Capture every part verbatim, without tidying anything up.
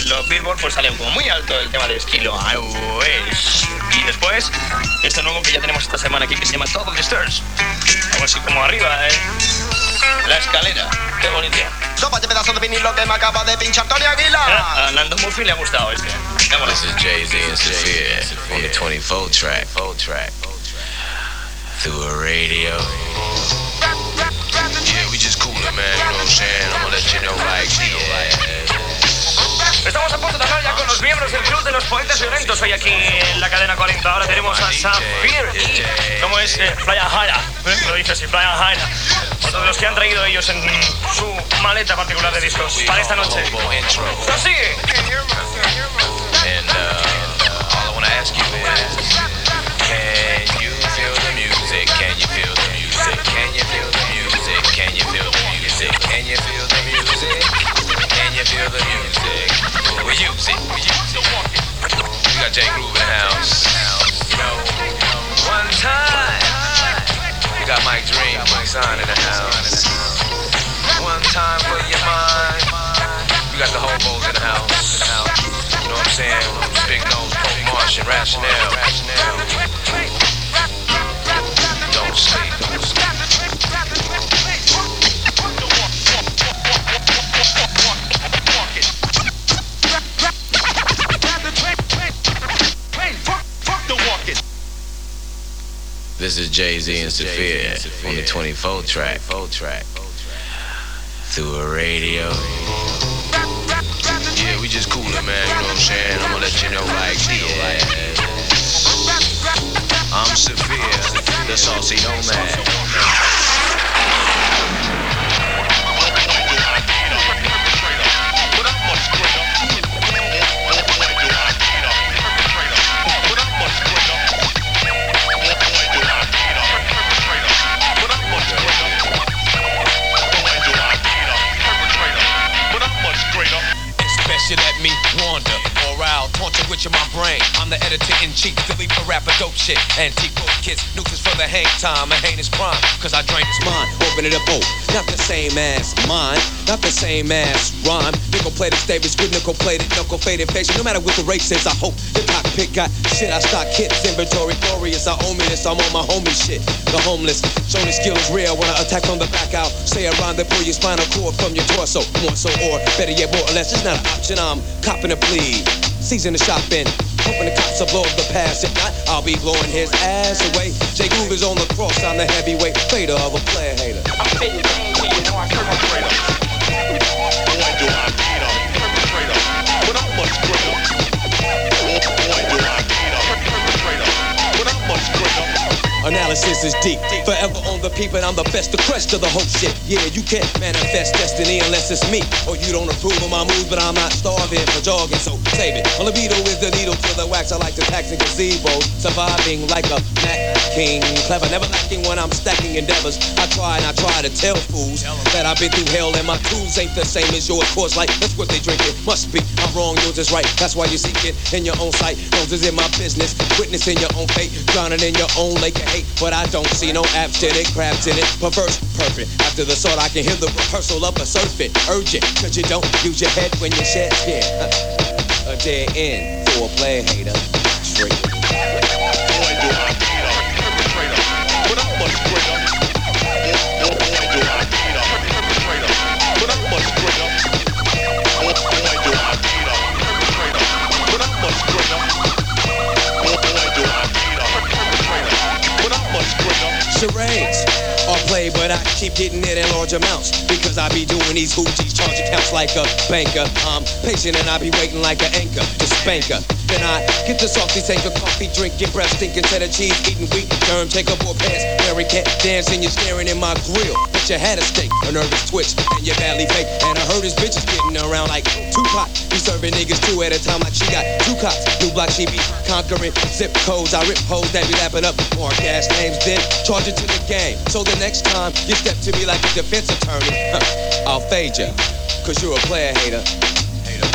en los Billboard pues sale como muy alto el tema de estilo iOS. Y después, esto nuevo que ya tenemos esta semana aquí que se llama Top of the Stairs. Algo así como arriba, ¿eh? La escalera. Qué bonito. Sopa de pedazo de vinilo que me acaba de pinchar Tony Aguilar. Ah, a Nando Murphy le ha gustado este. This is Jay-Z and Sophia on the twenty-four track. track. Through a radio. Yeah, we just coolin', man. You know what I'm saying? I'm gonna let you know like, yeah. Estamos a punto de hablar ya con los miembros del Club de los Poetas Violentos. Hoy aquí en la cadena cuarenta. Ahora tenemos a Safir y... ¿Cómo es? Eh, Playa Jaira. ¿Eh? Lo dice así, Playa Jaira. Otro de los que han traído ellos en su maleta particular de discos para esta noche. ¡Así! And uh, all I wanna ask you is, can you feel the music? Can you feel the music? Can you feel the music? Can you feel the music? Can you feel the music? Can you feel the music? We use it. We use it. We got Jay Groove in the house. You know, one time. We got Mike Dream, Mike Sign in the house. One time for your mind. We got the hobos in the house. You know what I'm saying? Big Nose, Poke Marsh, and Rationale. Don't sleep. This is Jay-Z and Sophia on the twenty-four track. Through a radio. Yeah, we just coolin', man. You know what I'm saying? I'm gonna let you know like, yeah. I'm Sophia, the saucy nomad. You let me wander or out, haunted with my brain. I'm the editor-in-chief, Philly for rapper dope shit. Antique road kids, nuisance for the hang time, a heinous crime, cause I drain his mind, open it up, oh, not the same as mine, not the same as rhyme. Nickel-plated Davis with nickel-plated, knuckle-faded face. No matter what the race is, I hope the cockpit got shit. I stock hits, inventory glorious, I own me this, I'm on my homie shit. The homeless, show the skills real when I attack from the back out. Say around the pull your spinal cord from your torso, more so, or better yet, more or less, it's not an option. I'm copping a plea, season the shopping, hoping the cops will blow up the past. If not, I'll be blowing his ass away. Jay Groove is on the cross, I'm the heavyweight fader of a player hater. I'm fitting things so you know I'm perpetrator. Boy, do I beat up, perpetrator. But I'm much greater. Boy, do I beat up, perpetrator. But I'm much greater. Analysis is deep, forever on the peep, and I'm the best, the crest of the whole shit. Yeah, you can't manifest destiny unless it's me, or you don't approve of my moves, but I'm not starving for jogging, so save it. My libido is the needle to the wax. I like to tax and gazebos, surviving like a Mac King. Clever, never lacking when I'm stacking endeavors. I try and I try to tell fools that I've been through hell, and my tools ain't the same as yours. Course like that's what they drinking. Must be I'm wrong, yours is right. That's why you seek it in your own sight. Noses in my business, witnessing your own fate, drowning in your own lake of hate. But I don't see no abstinent crabs in it. Perverse, perfect. After the sword, I can hear the rehearsal of a surfeit. Urgent, cause you don't use your head when you shed skin. A dead end for a player hater. Straight. Boy, do I beat up, perpetrator. But I'm much greater. Boy, do I beat up, perpetrator. But I'm much greater. Boy, do I beat up, perpetrator. But I'm much greater. Boy, do I beat up, perpetrator. But I'm much greater. Charades are played, but I keep getting it in large amounts because I be doing these hoochies, charge accounts like a banker. I'm patient and I be waiting like an anchor to spank her. Then I get the salty, take a coffee, drinking breath, stinking cheddar cheese, eating wheat, germ, take up more pants, wearing cat, dancing, you're staring in my grill. But you had a steak, a nervous twitch, and you badly fake. And I heard his bitches getting around like Tupac. He serving niggas two at a time like she got two cops. New block she be conquering, zip codes, I rip hoes that be lapping up. More gas names, then charge it to the game. So the next time you step to me like a defense attorney, huh, I'll fade ya, cause you're a player hater. Hater.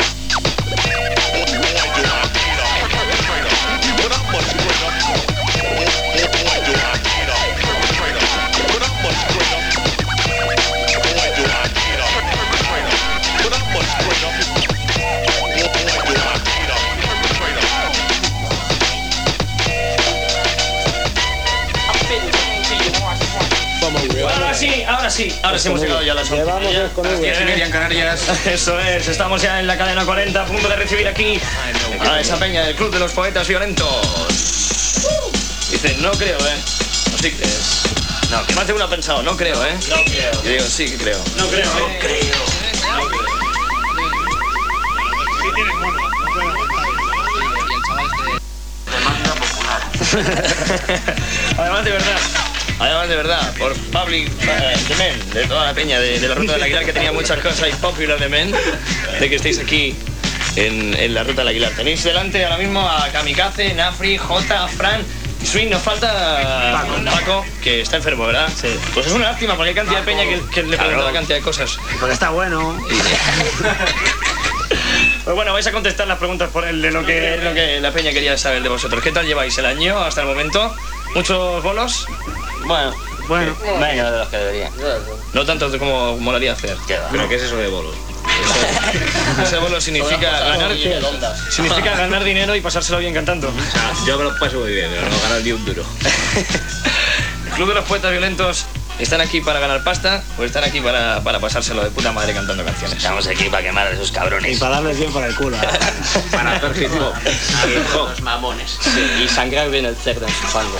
But I'm much greater. Boy, do I beat up, perpetrator. But I'm much greater. Boy, do I beat up, perpetrator. But I'm much greater. sí, ahora sí hemos llegado ya a las once. Llevamos dos con V. en Canarias. Eso es, estamos ya en la cadena cuarenta, a punto de recibir aquí a esa peña del Club de los Poetas Violentos. Dice, no creo, ¿eh? No sí crees. No, que más de uno ha pensado, no creo, ¿eh? No creo. Yo digo, sí que creo. No creo, no creo. No creo. Sí tienes mono, no puedo Además de verdad, además de verdad, por Public uh, The Men, de toda la peña de, de la Ruta del Aguilar, que tenía muchas cosas, y Popular The Men, de que estéis aquí en, en la Ruta del Aguilar. Tenéis delante ahora mismo a Kamikaze, Nafri, Jota, Fran y Swing. Nos falta Paco, Paco, que está enfermo, ¿verdad? Sí. Pues es una lástima, porque hay cantidad de peña que, que le pregunta la cantidad de cosas. Porque está bueno. Pues bueno, vais a contestar las preguntas por el de lo que, lo que la peña quería saber de vosotros. ¿Qué tal lleváis el año hasta el momento? ¿Muchos bolos? Bueno, bueno. Menos de los que deberían. No tanto como molaría hacer. ¿Pero qué es eso de bolos? Eso, ese bolo significa ganar, significa ganar dinero y pasárselo bien cantando. O sea, yo me lo paso muy bien, pero no ganar ni un duro. El Club de los Poetas Violentos, ¿están aquí para ganar pasta o están aquí para, para pasárselo de puta madre cantando canciones? Estamos aquí para quemar a esos cabrones. Y para darles bien por el culo. Para hacer hip hop. Los mamones. Sí, y sangrar bien el cerdo en su fango.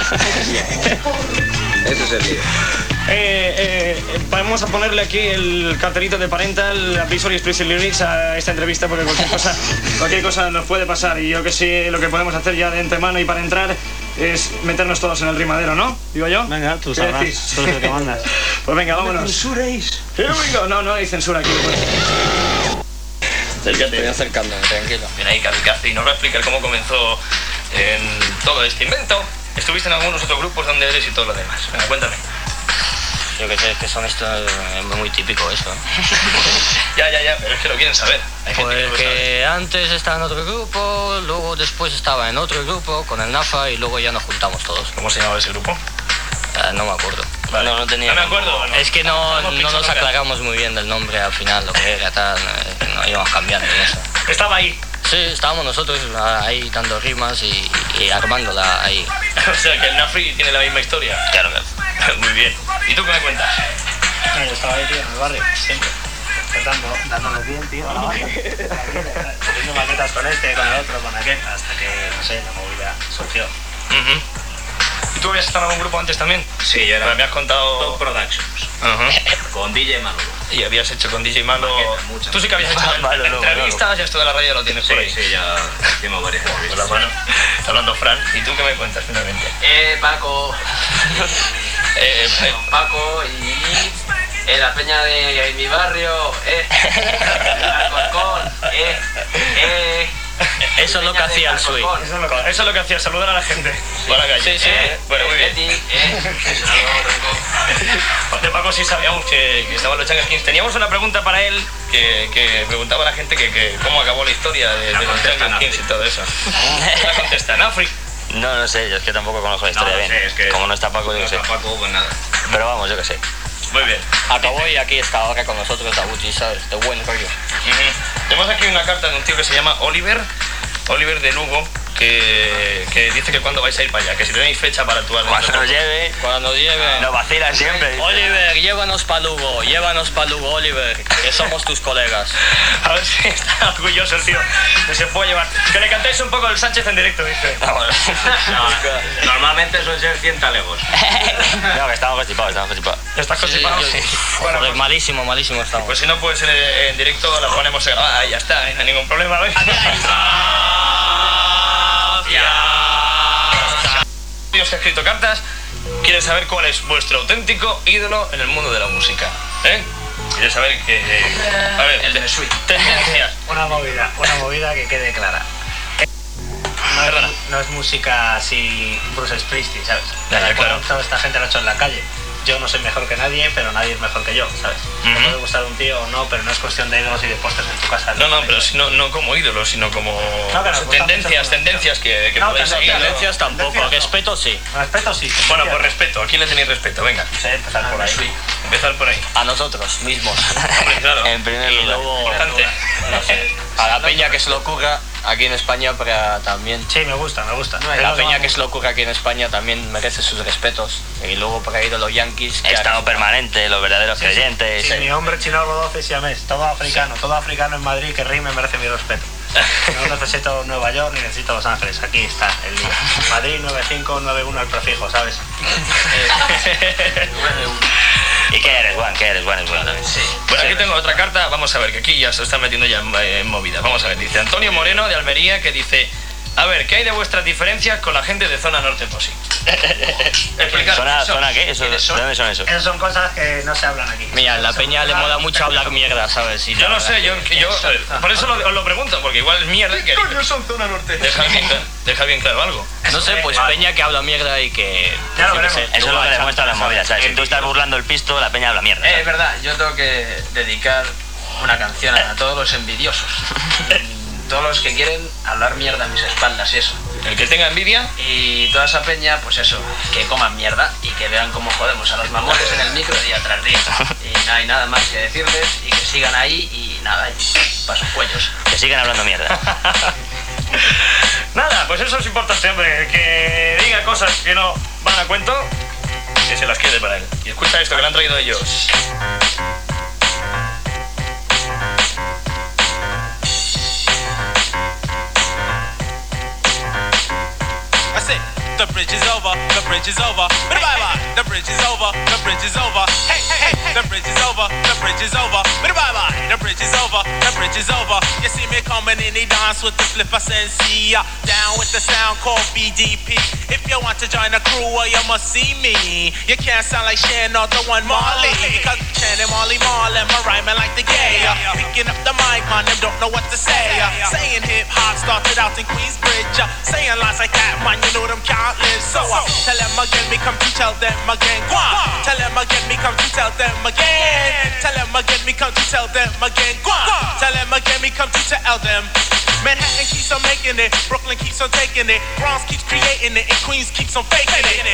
Ese es el lío. Eh, eh, vamos a ponerle aquí el cartelito de Parental Advisory Explicit Lyrics a esta entrevista, porque cualquier cosa, cualquier cosa nos puede pasar, y yo que sí, lo que podemos hacer ya de antemano y para entrar es meternos todos en el rimadero, ¿no? Digo yo. Venga, tú ¿Qué sabrás. decís? Tú eres el que mandas. Pues venga, vámonos. censuréis. Here we go. No, no hay censura aquí. Acércate. Estoy acercándome, tranquilo. Viene ahí Kamikaze y nos va a explicar cómo comenzó en todo este invento. Estuviste en algunos otros grupos, donde eres y todo lo demás. Venga, cuéntame. Yo que sé, es que son esto es muy típico eso. Ya, ya, ya, pero es que lo quieren saber. Hay gente Pues que no lo sabe. que antes estaba en otro grupo, luego después estaba en otro grupo con el Nafa y luego ya nos juntamos todos. ¿Cómo se llamaba ese grupo? Eh, no me acuerdo. Vale. No, no tenía. No me acuerdo, no. Es que no, Hemos no pinchado nos acá. aclaramos muy bien del nombre al final, lo que era, tal. eh, No íbamos cambiando y eso. Estaba ahí. Sí, estábamos nosotros ahí dando rimas y, y armándola ahí. O sea, que el Nafri tiene la misma historia. Claro que. Muy bien. ¿Y tú qué me cuentas? Yo estaba ahí, tío, en el barrio, siempre. Cantando, dándoles bien, tío, a la banda. Haciendo maquetas con este, con el otro, con aquel, hasta que, no sé, la movida surgió. Uh-huh. ¿Y tú habías estado en algún grupo antes también? Sí, yo era Me has contado... Top Productions. Ajá. Con D J Manolo. Y habías hecho con D J Malo... Maquetas, muchas. Tú sí que habías hecho Malo, no, entrevistas, ya esto de la radio lo tienes Sí, por ahí. sí, ya hicimos varias Con la entrevistas. mano. Está hablando Fran. ¿Y tú qué me cuentas finalmente? Eh, Paco. Eh, eh, Paco y eh, la peña de mi barrio, eh, Alcorcón, eh, eh. Eso es lo que hacía el Sui. eso, es lo que, eso es lo que hacía, saludar a la gente por la calle. Sí, sí. Eh, bueno, muy bien. Betty, eh. De Paco sí sabíamos que, que estaban los Jungle Kings. Teníamos una pregunta para él que, que preguntaba a la gente que, que cómo acabó la historia de, de los contesta Jungle Kings y todo eso. La contesta Nafri. No, no sé, yo es que tampoco conozco la historia No, bien. sé, es que Como no está Paco, yo no qué sé. está Paco, pues nada. Pero vamos, yo qué sé. Muy bien. Acabó y aquí está ahora con nosotros Dabuchi, ¿sabes? De buen rollo. Ujú. Tenemos aquí una carta de un tío que se llama Oliver, Oliver de Lugo, que, que dice que cuando vais a ir para allá, que si tenéis fecha para actuar. dentro Cuando de nos poco. lleve, cuando nos lleve. Nos vacilan siempre. Oliver, llévanos pa' Lugo, llévanos pa' Lugo, Oliver, que somos tus colegas. A ver si está orgulloso el tío, que se puede llevar. Que le cantéis un poco el Sánchez en directo, dice. Vamos. No, normalmente suelen ser cien talegos. No, que estamos constipados, estamos constipados. ¿Estás constipado? Sí, Sí. sí. Bueno, Joder, pues- malísimo, malísimo estamos. Pues si no puede ser en directo, la ponemos grabada y ya está, y no hay ningún problema. ¿Ves? Dios que ha escrito cartas, quiere saber cuál es vuestro auténtico ídolo en el mundo de la música. ¿Eh? Quiere saber que... eh, a ver, El de Sweet. tendencias. Una movida, una movida que quede clara. No Perdona. es, no es música así Bruce Springsteen, ¿sabes? Ya, ya, claro. Toda esta gente lo ha hecho en la calle. Yo no soy mejor que nadie, pero nadie es mejor que yo, ¿sabes? Me Ujú. puede gustar un tío o no, pero no es cuestión de ídolos y de pósters en tu casa. No, no, pero si no, no como ídolo, sino como No, que nos gustan tendencias, mucho. tendencias que, que No, podéis que no, seguir. ¿no? Tendencias tampoco, Tendencias no. respeto sí. Respeto sí. Bueno, tendencias por no. respeto, ¿a quién le tenéis respeto? Venga, No sé, empezar por ahí. empezar por ahí. A nosotros mismos. Hombre, claro. En primer Y lugar. luego, importante. No sé. A la peña que se le ocurra aquí en España para también... Sí, me gusta, me gusta. No, la peña que se le ocurre aquí en España también merece sus respetos. Y luego para ir a los Yankees... Estado permanente, los verdaderos Sí, creyentes. Sí, sí, mi hombre chino doce siamés, todo africano, todo africano en Madrid que rime merece mi respeto. No necesito Nueva York ni necesito Los Ángeles, aquí está el día. Madrid nueve cinco nueve uno el prefijo, ¿sabes? ¿Y qué eres, Juan? ¿Qué eres, Juan? Es bueno también. Sí. Bueno, aquí tengo otra carta, vamos a ver, que aquí ya se está metiendo ya en, en movida. Vamos a ver, dice Antonio Moreno de Almería, que dice: a ver, ¿qué hay de vuestras diferencias con la gente de Zona Norte Posi? Explicar. ¿Zona, ¿Zona qué? Eso, ¿De dónde son eso? Esas son cosas que no se hablan aquí. Mira, la peña le mola mucho hablar mierda, ¿sabes? Y Yo la no sé, yo, verdad yo por eso lo, os lo pregunto, porque igual es mierda y que... ¿Qué coño son Zona Norte? Deja bien, deja bien claro algo. que- No sé, pues peña que habla mierda y que... Ya lo yo qué veremos. sé, Eso es lo luego que al demuestran las chanza, movidas, ¿sabes? Si Eh, tú estás burlando el pisto, la peña habla mierda. Eh, es ¿sabes? verdad, yo tengo que dedicar una canción a todos los envidiosos. Todos los que quieren hablar mierda a mis espaldas y eso. El que tenga envidia, Y toda esa peña, pues eso, que coman mierda y que vean cómo jodemos a los mamones en el micro día tras día. Y no hay nada más que decirles y que sigan ahí y nada, y para sus cuellos. Que sigan hablando mierda. nada, pues eso es importante, hombre, que diga cosas que no van a cuento, que se las quede para él. Y escucha esto que le han traído ellos. That's it. The bridge is over. The bridge is over. Bye bye. The bridge is over. The bridge is over. Hey, hey, hey. The bridge is over. The bridge is over. Bye bye. The bridge is over. The bridge is over. You see me coming in the dance with the flipper sensi. Uh, down with the sound called B D P. If you want to join the crew, well, you must see me. You can't sound like Shan or the one Marley. Because Shan and Marley Marley, my rhyming like the gay. Uh, picking up the mic, man, them don't know what to say. Uh, saying hip hop started out in Queensbridge. Uh, saying lines like that, man, you know them can't live. So uh, tell them again, me come to tell them again. Go on. Tell them again, me come to tell them again. Tell them again, me come to tell them again. Go on. Tell them again, me come to tell them. Manhattan keeps on making it, Brooklyn keeps on taking it, Bronx keeps creating it, and Queens keeps on faking it.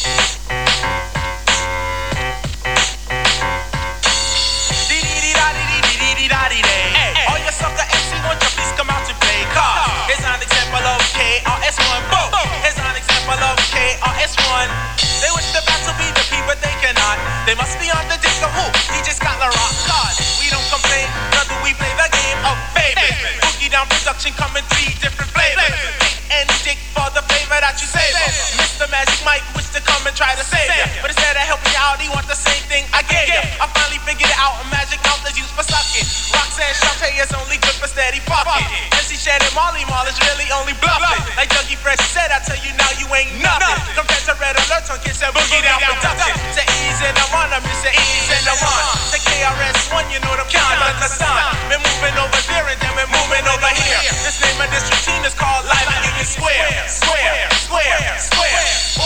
Hey, all your sucker M C, won't you please come out to play? Car. Here's an example of K R S One. Boom. Here's an example of K R S One. They wish the battle be the P, but they cannot. They must be on the disc of who? D J Scott La Rock. God, we don't complain, nor do we play the game of favors. Boogie Down production coming three different flavors. Pick and dick for the flavor that you savor. Mister Magic Mike wish to come and try to save ya, but instead of helping you out, he want the same thing I gave ya. I finally figured it out. A magic mouth is used for sucking. Roxanne Shante is only good for steady pocket. M C Shannon Molly Mall is really only bluffing. Like Dougie Fresh said, I tell you now you ain't nothing. Compared to Red Alert on Kiss and Boogie Down production. To ease in the run, I'm Mister Ease in the run. To K R S One, you know them can't understand. Been moving over there and then we're moving over here. This name of this routine is called Live Union Square. Square, square, square.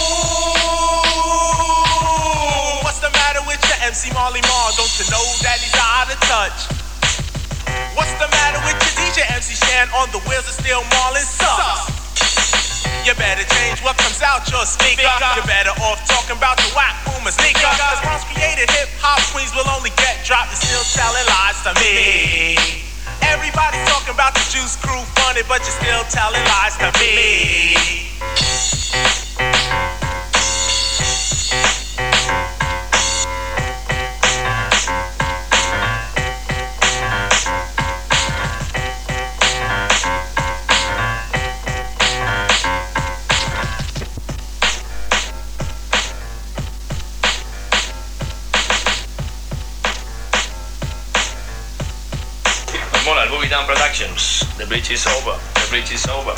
Ooh, what's the matter with your M C Marley Marl? Don't you know that he's out of touch? What's the matter with your D J M C Shan on the wheels of steel Marlin sucks? You better change what comes out your speaker. You're better off talking about the whack boomer sneaker. Cause Bronx created hip hop queens will only get dropped and still telling lies to me. Everybody's talking about the Juice Crew funny, but you're still telling lies to me. Mola el Boogie Down Productions. The bridge is over. The bridge is over.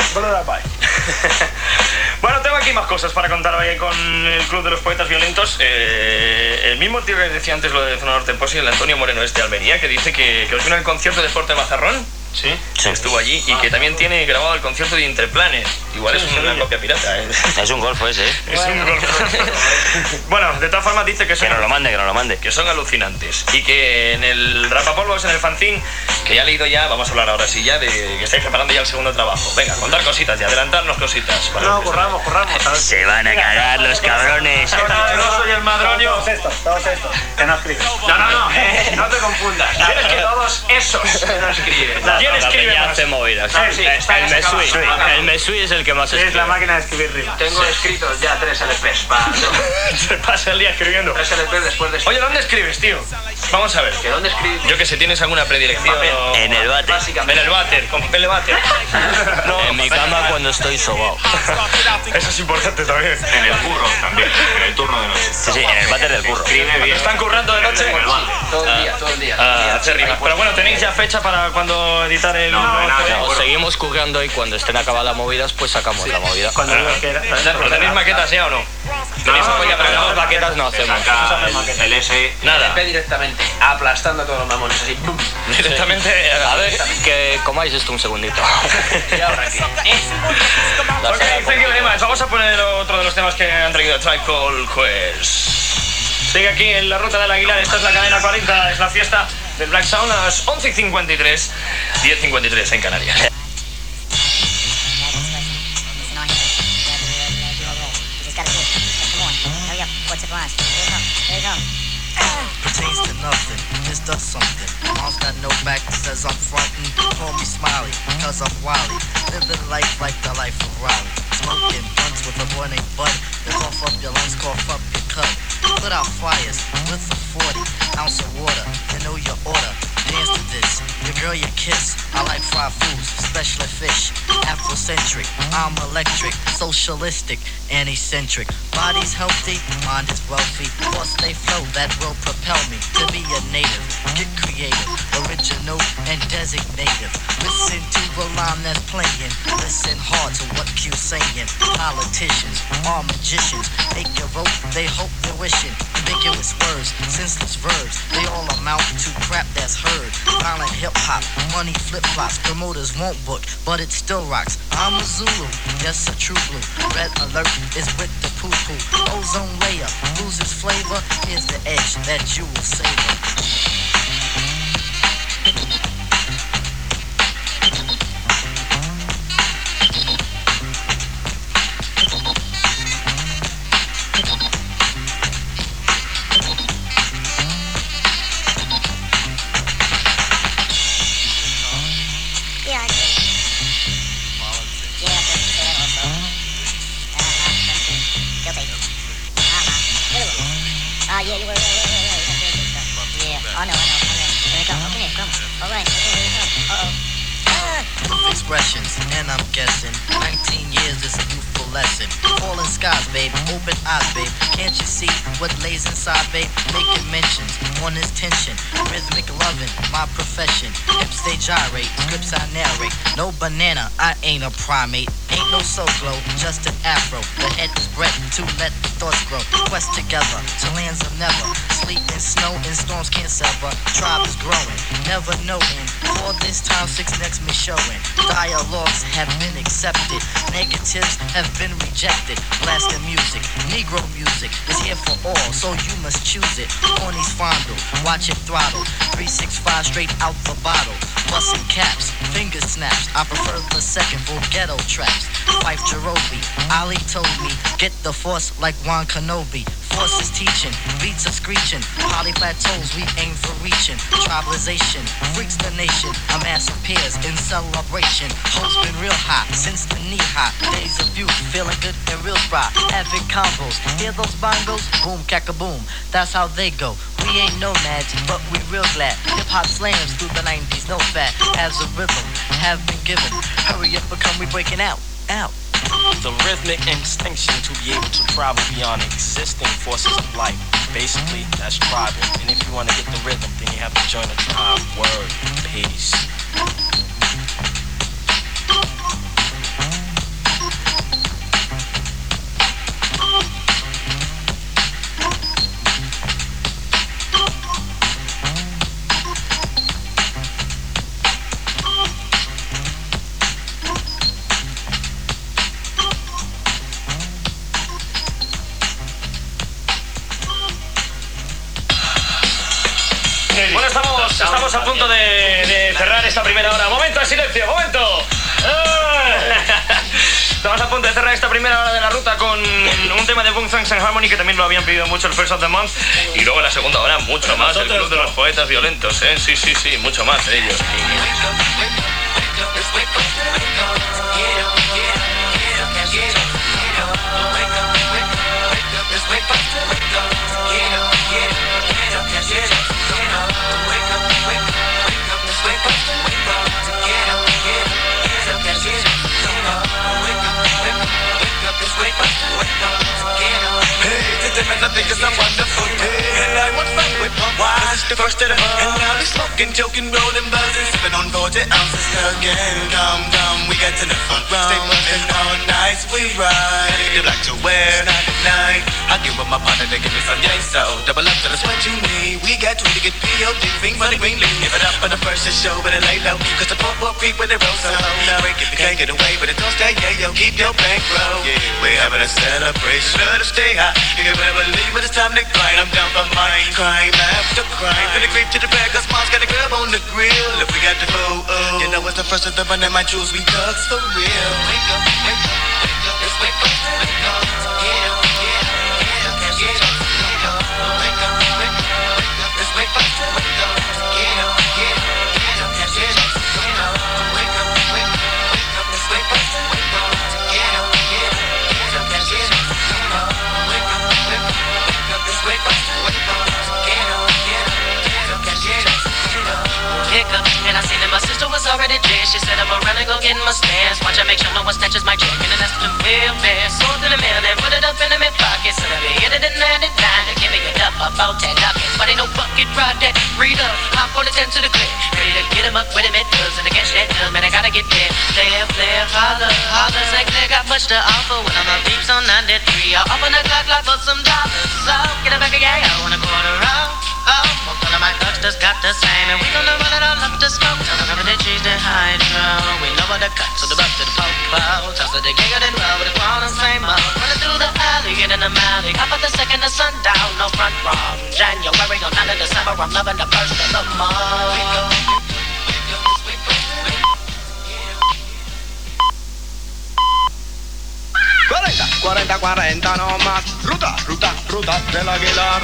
Bueno, tengo aquí más cosas para contar hoy con el Club de los Poetas Violentos. Eh, el mismo tío que decía antes lo de Zona Norte Posi, el Antonio Moreno este de Almería, que dice que, que os vino el concierto de Porte Mazarrón. Sí. Sí. Estuvo allí y que también tiene grabado el concierto de Interplanet. Igual Sí, es una sí. copia pirata, ¿eh? Es un golfo ese, ¿eh? Es un golpe. Bueno, de todas formas dice que Que son, nos lo mande, que nos lo mande. que son alucinantes. Y que en el Rapapolvos, en el fanzine, que ya he leído ya, vamos a hablar ahora sí ya de que estáis preparando ya el segundo trabajo. Venga, contar cositas y adelantarnos cositas. para No, lo que corramos, corramos. ¿sabes? Se van a cagar los cabrones. Ahora yo no soy el madroño. Todos estos, todos estos. Que no escriben. No, no, no, eh, no te confundas. ¿Quién es que todos esos? No escribe. ¿Quién escribe y hace movidas. Ah, sí, está El ya se Mesui, acaba. el Mesui es el que más Es escribe. la máquina de escribir rimas. Tengo escritos ya tres L Pes para... Se pasa el día escribiendo. tres L Pes después de... Oye, ¿dónde escribes, tío? Vamos a ver. ¿Que dónde escribes? Yo que sé, ¿tienes alguna predilección? En el váter. En Básicamente. el váter, con papel de váter. No, En mi cama cuando estoy sobao. eso es importante también. En el curro también, en el turno de noche. Sí, sí, en el váter del curro. Escribe bien. ¿Están currando de noche? Todo el día, todo el día. Ah, hacer rimas. Pero bueno, ¿tenéis ya fecha para cuando editar el...? No, no hay nada de No, acuerdo. seguimos currando y cuando estén acabadas las movidas, pues sacamos la movida. Cuando Ah. digo que era... ¿Pero tenéis maquetas ya o no? ¿Tenéis No, apoyo no, para no, las no, maquetas? no Se hacemos. saca el, el S. Nada. L P directamente, aplastando a todos los mamones, así, ¡pum! Directamente... A ver, que comáis esto un segundito. Y ahora aquí. La Ok, sala thank you very much. Vamos a poner otro de los temas que han traído Tribe Called Quest. Sigue aquí en la ruta del Aguilar. Esta es la cadena cuarenta. Es la fiesta del Black Sound a las once y cincuenta y tres. diez y cincuenta y tres en Canarias. Pertains to nothing, this does something. Mom's got no back, says I'm frontin'. Call me Smiley, cause I'm wily. Living life like the life of Riley. Smoking blunts with a boy named Bud. They cough up your lungs, cough up your cut. Put out fires with a forty ounce of water. You know your order. Dance to this, your girl you kiss. I like fried foods, especially fish. Afrocentric, I'm electric, socialistic, and eccentric. Body's healthy, mind is wealthy. Thoughts they flow that will propel me to be a native. Get creative, original, and designative. Listen to the line that's playing. Listen hard to what Q's saying. Politicians are magicians. Make your vote, they hope you're wishing. Ambiguous words, senseless verbs. They all amount to crap that's heard. Violent hip-hop, money flip-flops. Promoters won't book, but it still rocks. I'm a Zulu, yes, a true blue. Red alert is with the poo-poo. Ozone layer loses flavor. Here's the edge that you will savor. Yeah, I did. Yeah, I did say that also. Uh-huh. Guilty. Uh-huh. Really? Uh, yeah, you were, yeah, yeah, yeah, yeah. You have to do stuff. Yeah. Oh, no, I know, I know. Here we go. Okay, come. All right. Okay, here we go. Uh-oh. With expressions, and I'm guessing nineteen years is a youthful lesson. Falling skies, babe, open eyes, babe. Can't you see what lays inside, babe? Making mentions on this tension. Rhythmic loving, my profession. Hips they gyrate, scripts I narrate. No banana, I ain't a primate. Ain't no soul glow, just an afro. The head is bred to let the thoughts grow. Quest together to lands of never. Sleet and snow and storms can't sever. Tribe is growing, never knowing. For this time, six next me showing. Dialogues have been accepted. Negatives have been rejected. Blasting music, Negro music is here for all, so you must choose it. Ponies fondle, watch it throttle. three sixty-five straight out the bottle. Busting caps, finger snaps. I prefer the second for ghetto traps. Fife Jerobi, Ali told me, get the force like Juan Kenobi. Force is teaching, beats are screeching. Poly plateaus we aim for reaching. Tribalization, freaks the nation. A mass of peers in celebration. Hope's been real hot since the knee high. Days of youth, feeling good and real spry. Avid combos, hear those bongos? Boom, cack-a-boom, that's how they go. We ain't nomads, but we real glad. Hip-hop slams through the nineties, no fat. As a rhythm, have been given. Hurry up, become we breaking out, out. The rhythmic instinction to be able to travel beyond existing forces of life. Basically, that's tribal. And if you want to get the rhythm, then you have to join a tribe. Word. Peace. Bueno, estamos, estamos a punto de, de cerrar esta primera hora. ¡Momento de silencio! ¡Momento! Estamos a punto de cerrar esta primera hora de la ruta con un tema de Boom Thanks and Harmony que también lo habían pedido mucho el First of the Month. Y luego en la segunda hora mucho más, el Club de los Poetas Violentos, ¿eh? Sí, sí, sí, mucho más de ellos. I think it's a wonderful day. And I want fun with my wife. It's the first of the month. And I'll be smoking, joking, rolling, buzzing, sipping on forty ounces again. Come, come, we get to the front row. Stay buzzing all night, we ride. They like to wear night at night. I give up my partner, they give me some yay, so double up to the sweat you need. We got twenty get P O D, fiend for the green leaf. Give it up for the first to show, but it lay low. Cause the pop will creep with the roll, so no. Break if you can't get away, but it don't stay, yeah, yo, keep your bankroll. Yeah, we're having a celebration, let us stay high. You can better believe when it's time to grind. I'm down for mine, crime after crime. Finna creep to the back, cause mom's got a grub on the grill. If we got the boo, oh, you know it's the first of the run and my jewels, we thugs for real. Wake up, wake up, wake up, let's wake up, wake up, yeah, yeah, yeah, can't get up, wake up, wake up, wake up, wake up, let's wake up, wake up, yeah, yeah, yeah, can't get up, wake up, wake up, wake up, wake up, let's wake up, wake up, yeah, yeah, yeah, can't get up, wake up, wake up, wake up, wake up, let's wake up, wake up, yeah, yeah, yeah, can't get up, wake up. Hiccup, and I seen that my sister was already dead. She said I'm around and go get my stance. Watch I make sure no one snatches my check, and then that's the real fast. Sold to the mail, then put it up in the mid pocket. So that we hit it in ninety-nine to give me a up about ten dockets. But ain't no bucket ride that read up. Hop on the ten to the clip, ready to get him up with him at dubs. And to catch that dub, man, I gotta get there. Flair, flair, holler, holler. Say Claire got much to offer when I'm a peeps on ninety-three. I'll up on the clock, clock for some dollars. So get it back again, I want a quarter off. Oh, most of my thugs just got the same, and we gonna run it all up the smoke. Tell them the cheese, the hydro. We know what the cuts, so the buck to the popo. Toss to the gig, I didn't roll with the crown and same mode. Running through the alley, get in the alley. Up at the second of sundown, no front from January on nine of December. I'm loving the first of the month. cuarenta, cuarenta, cuarenta no más. Ruta, ruta, ruta del Aguilar.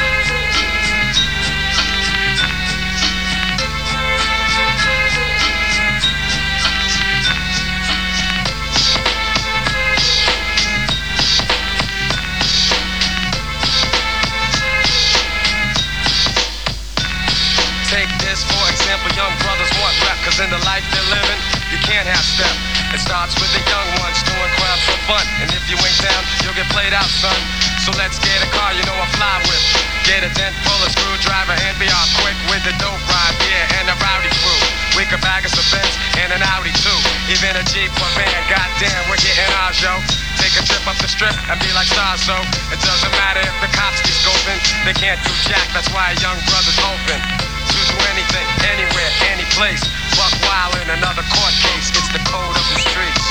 Take this for example, young brothers want rap, cause in the life they're living, you can't have step. It starts with the young ones doing crowds for fun, and if you ain't down, you'll get played out, son. So let's get a car, you know I fly with. Get a dent full of screwdriver and be all quick with the dope ride, yeah, and the rowdy crew. We could bag us a Benz and an Audi too, even a Jeep or van, goddamn, we're getting ours, yo. Take a trip up the strip and be like stars, so it doesn't matter if the cops be scoping, they can't do jack, that's why a young brother's open. Do anything, anywhere, any place. Buck wild in another court case. It's the code of the streets.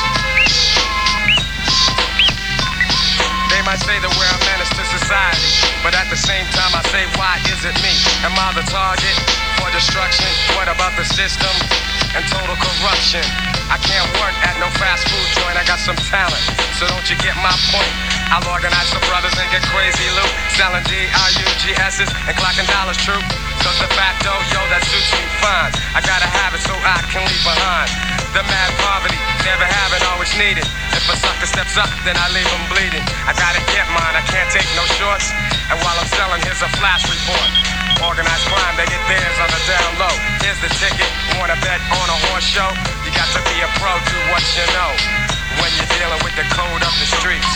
They might say that we're a menace to society, but at the same time I say, why is it me? Am I the target for destruction? What about the system and total corruption? I can't work at no fast food joint, I got some talent, so don't you get my point? I'll organize some brothers and get crazy loot, selling D R U G S's and clocking dollars true. Cause de facto, yo, that suits me fine. I gotta have it so I can leave behind the mad poverty, never having, always needed. If a sucker steps up, then I leave him bleeding. I gotta get mine, I can't take no shorts. And while I'm selling, here's a flash report. Organized crime, they get theirs on the down low. Here's the ticket, wanna bet on a horse show? You got to be a pro, do what you know when you're dealing with the code of the streets.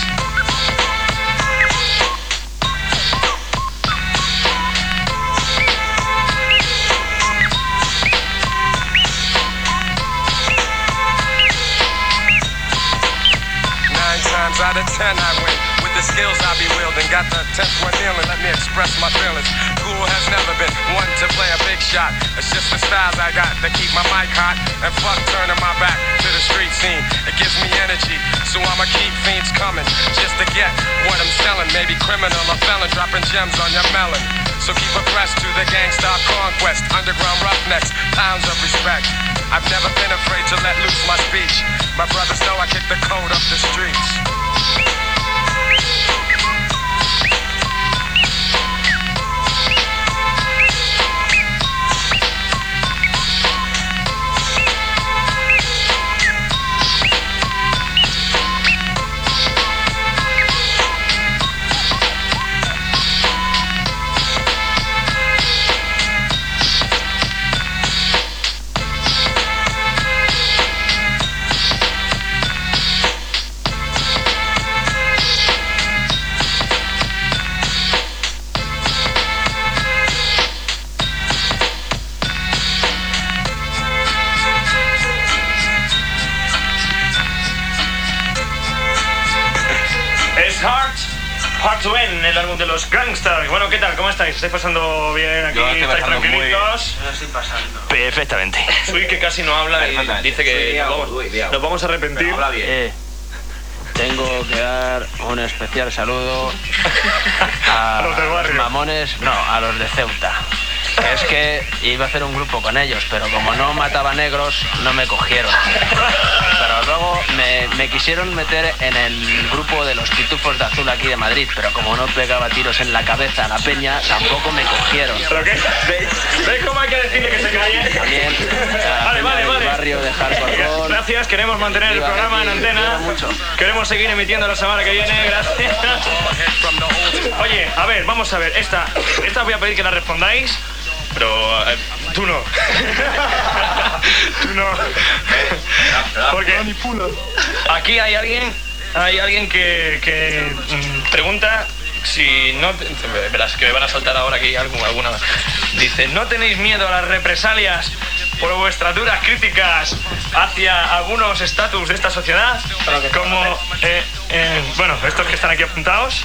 Times out of ten I win. With the skills I be wielding, got the tenth one kneeling, let me express my feelings. Cool has never been one to play a big shot. It's just the styles I got to keep my mic hot. And fuck turning my back to the street scene. It gives me energy, so I'ma keep fiends coming just to get what I'm selling. Maybe criminal or felon, dropping gems on your melon. So keep abreast to the gangsta conquest. Underground roughnecks, pounds of respect. I've never been afraid to let loose my speech. My brothers know I kick the code up the streets. Hard to End, el álbum de los Gangsters. Bueno, ¿qué tal? ¿Cómo estáis? ¿Estáis pasando bien aquí? Yo estoy ¿Estáis pasando muy tranquilitos? Yo estoy pasando. Perfectamente. Sui, que casi no habla y dice que Sui, nos Diago, vamos, Sui, Diago. nos vamos a arrepentir. Habla bien. Eh, tengo que dar un especial saludo a A los del barrio. mamones, no, a los de Ceuta. Es que iba a hacer un grupo con ellos, pero como no mataba negros, no me cogieron. Pero luego me, me quisieron meter en el grupo de los Pitufos de Azul aquí de Madrid, pero como no pegaba tiros en la cabeza a la peña, tampoco me cogieron. ¿Pero qué? ¿Veis cómo hay que decirle que se calle? También a la Vale, peña vale, del vale. barrio de Hardcore Roll. Gracias, queremos mantener el Viva programa en Betty, antena. mucho. Queremos seguir emitiendo la semana que viene, gracias. Oye, a ver, vamos a ver, esta, esta voy a pedir que la respondáis, pero eh, tú no. Tú no. Porque aquí hay alguien, hay alguien que, que mm, pregunta si no... te- Verás que me van a saltar ahora aquí algo- alguna... Dice, ¿no tenéis miedo a las represalias por vuestras duras críticas hacia algunos estatus de esta sociedad? Como, eh, eh, bueno, estos que están aquí apuntados.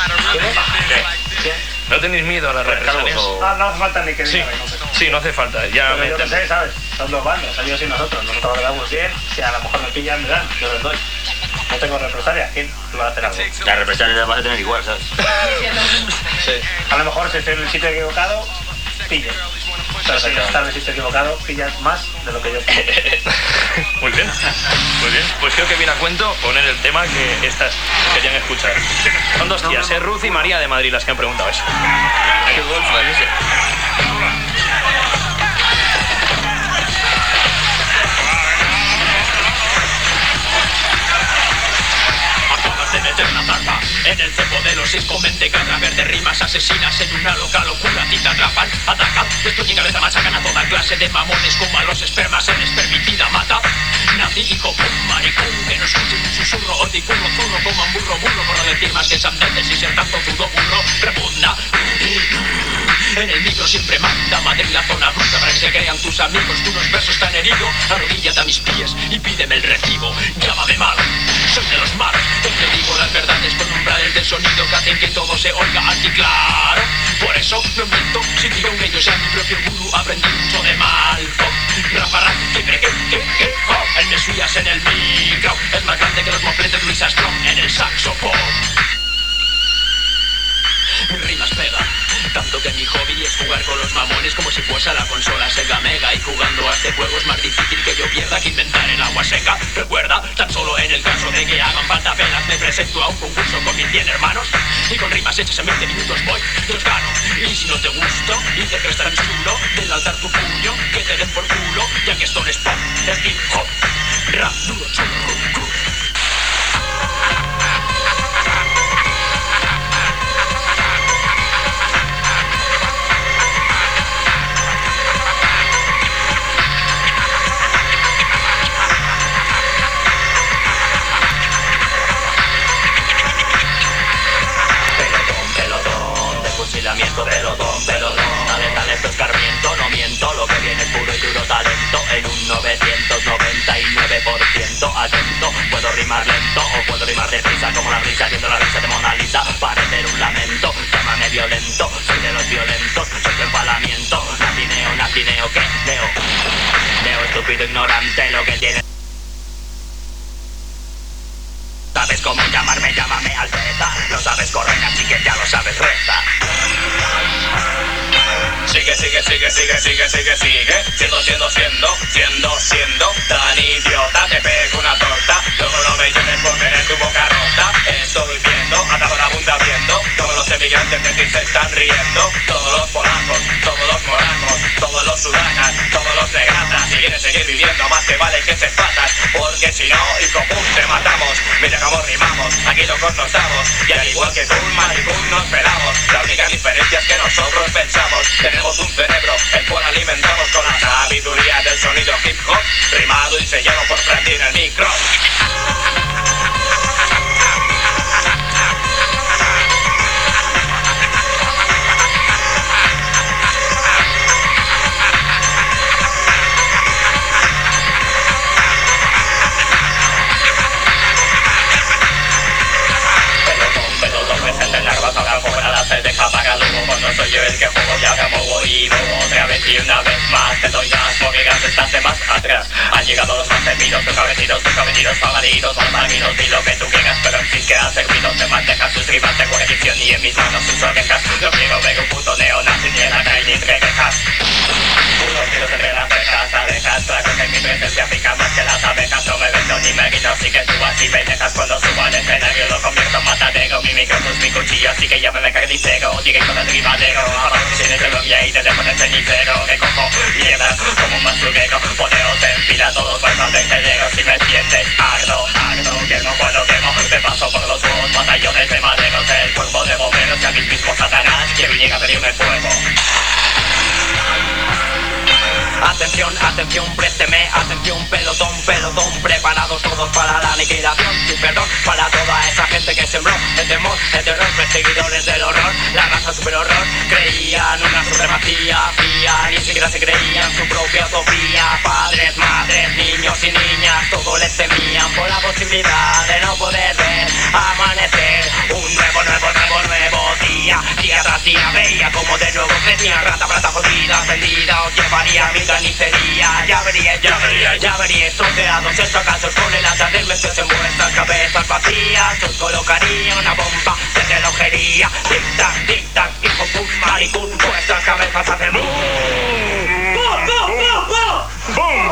¿No tenéis miedo a las represalias? Ah, no hace falta ni que Sí, diga que no sé. sí, no hace falta. Ya Pero me yo qué entendí. sé, ¿sabes? Son dos bandos, ellos y nosotros. Nosotros lo damos bien. Si a lo mejor me pillan, me dan. Yo les doy. No tengo represalia. ¿Quién va a hacer algo? La represalia la vas a tener igual, ¿sabes? Sí. A lo mejor si estoy en el sitio equivocado, pillo. Pero si estás en el sitio equivocado, pillas más de lo que yo pillo. Muy bien, muy bien. Pues creo que viene a cuento poner el tema que estas querían escuchar. Son dos tías, es Ruth y María de Madrid las que han preguntado eso. Qué golfa es ese. Acabas de meter una zarpa en el cepo de los seis con mentecada verde, rimas asesinas en una loca locura. A ti te atrapan, atacan, destruyen cabeza, machacan a toda clase de mamones como a los espermas en espermicida mata. Nazi hijo un maricón que no escuche un susurro o curro zurro como un burro burro por no decir más que sandeces y ser tanto zurdo burro repugna. En el micro siempre manda Madrid la zona bruta para que se crean tus amigos que unos versos tan heridos. Arrodíllate a mis pies y pídeme el recibo. Llámame malo, soy de los malos. Te digo las verdades con umbrales de sonido que hacen que todo se oiga aquí claro. Por eso no miento, si digo que yo sea mi propio gurú, aprendí mucho de Malcolm. Rapará, que que que que que oh, el Mesías en el micro es más grande que los mofletes Luis Armstrong en el saxofón. Mis rimas pegan, tanto que mi hobby es jugar con los mamones como si fuese a la consola Sega Mega. Y jugando a este juego es más difícil que yo pierda que inventar el agua seca. Recuerda, tan solo en el caso de que hagan falta penas, me presento a un concurso con mis cien hermanos y con rimas hechas en veinte minutos voy, los gano. Y si no te gusto y te crees tan chulo, del altar tu puño, que te den por culo, ya que esto no es pop, es hip hop, rap duro, chulo, crudo. Fusilamiento, pelotón, pelotón. Dale, dale, esto es Carmiento, no miento. Lo que viene es puro y duro talento. En un novecientos noventa y nueve por ciento atento. Puedo rimar lento o puedo rimar deprisa, como la brisa viendo la risa de Mona Lisa. Parecer un lamento, llámame violento. Soy de los violentos, soy tu empalamiento. Natineo, natineo, ¿qué? Neo, neo, estúpido, ignorante. Lo que tiene. Sabes cómo llamarme, llámame Alteza. No sabes correr, así que ya lo sabes, reza. Sigue, sigue, sigue, sigue, sigue, sigue, sigue. Siendo, siendo, siendo, siendo, siendo tan idiota. Te pego una torta, luego no me llores por tener tu boca rota. Estoy viendo, atado la bunda viendo. Todos los emigrantes de ti se están riendo. Todos los polacos, todos los moracos, todos los sudanas, todos los negratas. Si quieres seguir viviendo, más te vale que se patas. Porque si no, hijo pum, te matamos. Mira cómo rimamos, aquí locos nos damos. Y al igual que tú, maricón, nos pelamos. La única diferencia es que nosotros pensamos. Tenemos un cerebro, el cual alimentamos con la sabiduría del sonido hip hop, rimado y sellado por Frankie en el micro. Pelotón, pelotón presente en la soy yo el que juego, ya me muevo y muevo otra vez y una vez más te doy gas, porque gas estás de más atrás. Han llegado los más temidos, tus cabecidos, tus cabecidos, pagaditos, malvalidos, di lo que tú quieras, pero en fin que ha servido, te mantejas sus rimas de coalición y en mis manos sus orejas. No quiero ver un puto neonazi ni en la calle ni entre quejas. Unos tiros entre las cejas, abejas, claro que mi presencia pica más que las abejas. No me vendo ni me guino, así que tú así me dejas cuando subo al escenario, lo convierto en matadero. Mi micrófono es mi cuchillo, así que llámame carnicero, directo del ribadero. Abajo tienes el novia y te dejo en el cenicero. Que cojo mierdas como un basurero, poneos en fila todos vuelvan vertederos. Si me entiendes, ardo, ardo, quemo cuando quemo. Me paso por los huevos, batallones de maderos. El cuerpo de bomberos y a mis mismos satanás que viniera a pedirme fuego. Atención, atención, présteme, atención, pelotón, pelotón, preparados todos para la aniquilación, sin perdón, para toda esa gente que sembró el temor, el terror, perseguidores del horror, la raza super horror, creían una supremacía, fía, ni siquiera se creían su propia utopía, padres, madres, niños y niñas, todos les temían por la posibilidad de no poder ver amanecer, un nuevo, nuevo, nuevo, nuevo día, día tras día, veía como de nuevo crecía, rata, plata jodida, vendida, os llevaría a mi carnicería, ya veríais, ya veríais, ya veríais troceados en fracasos con el hacha del mesías en vuestras cabezas vacías, os colocaría una bomba de relojería, tic-tac, tic-tac, hijo put, maricón, vuestras cabezas hacen boom, boom, boom, boom, boom, boom.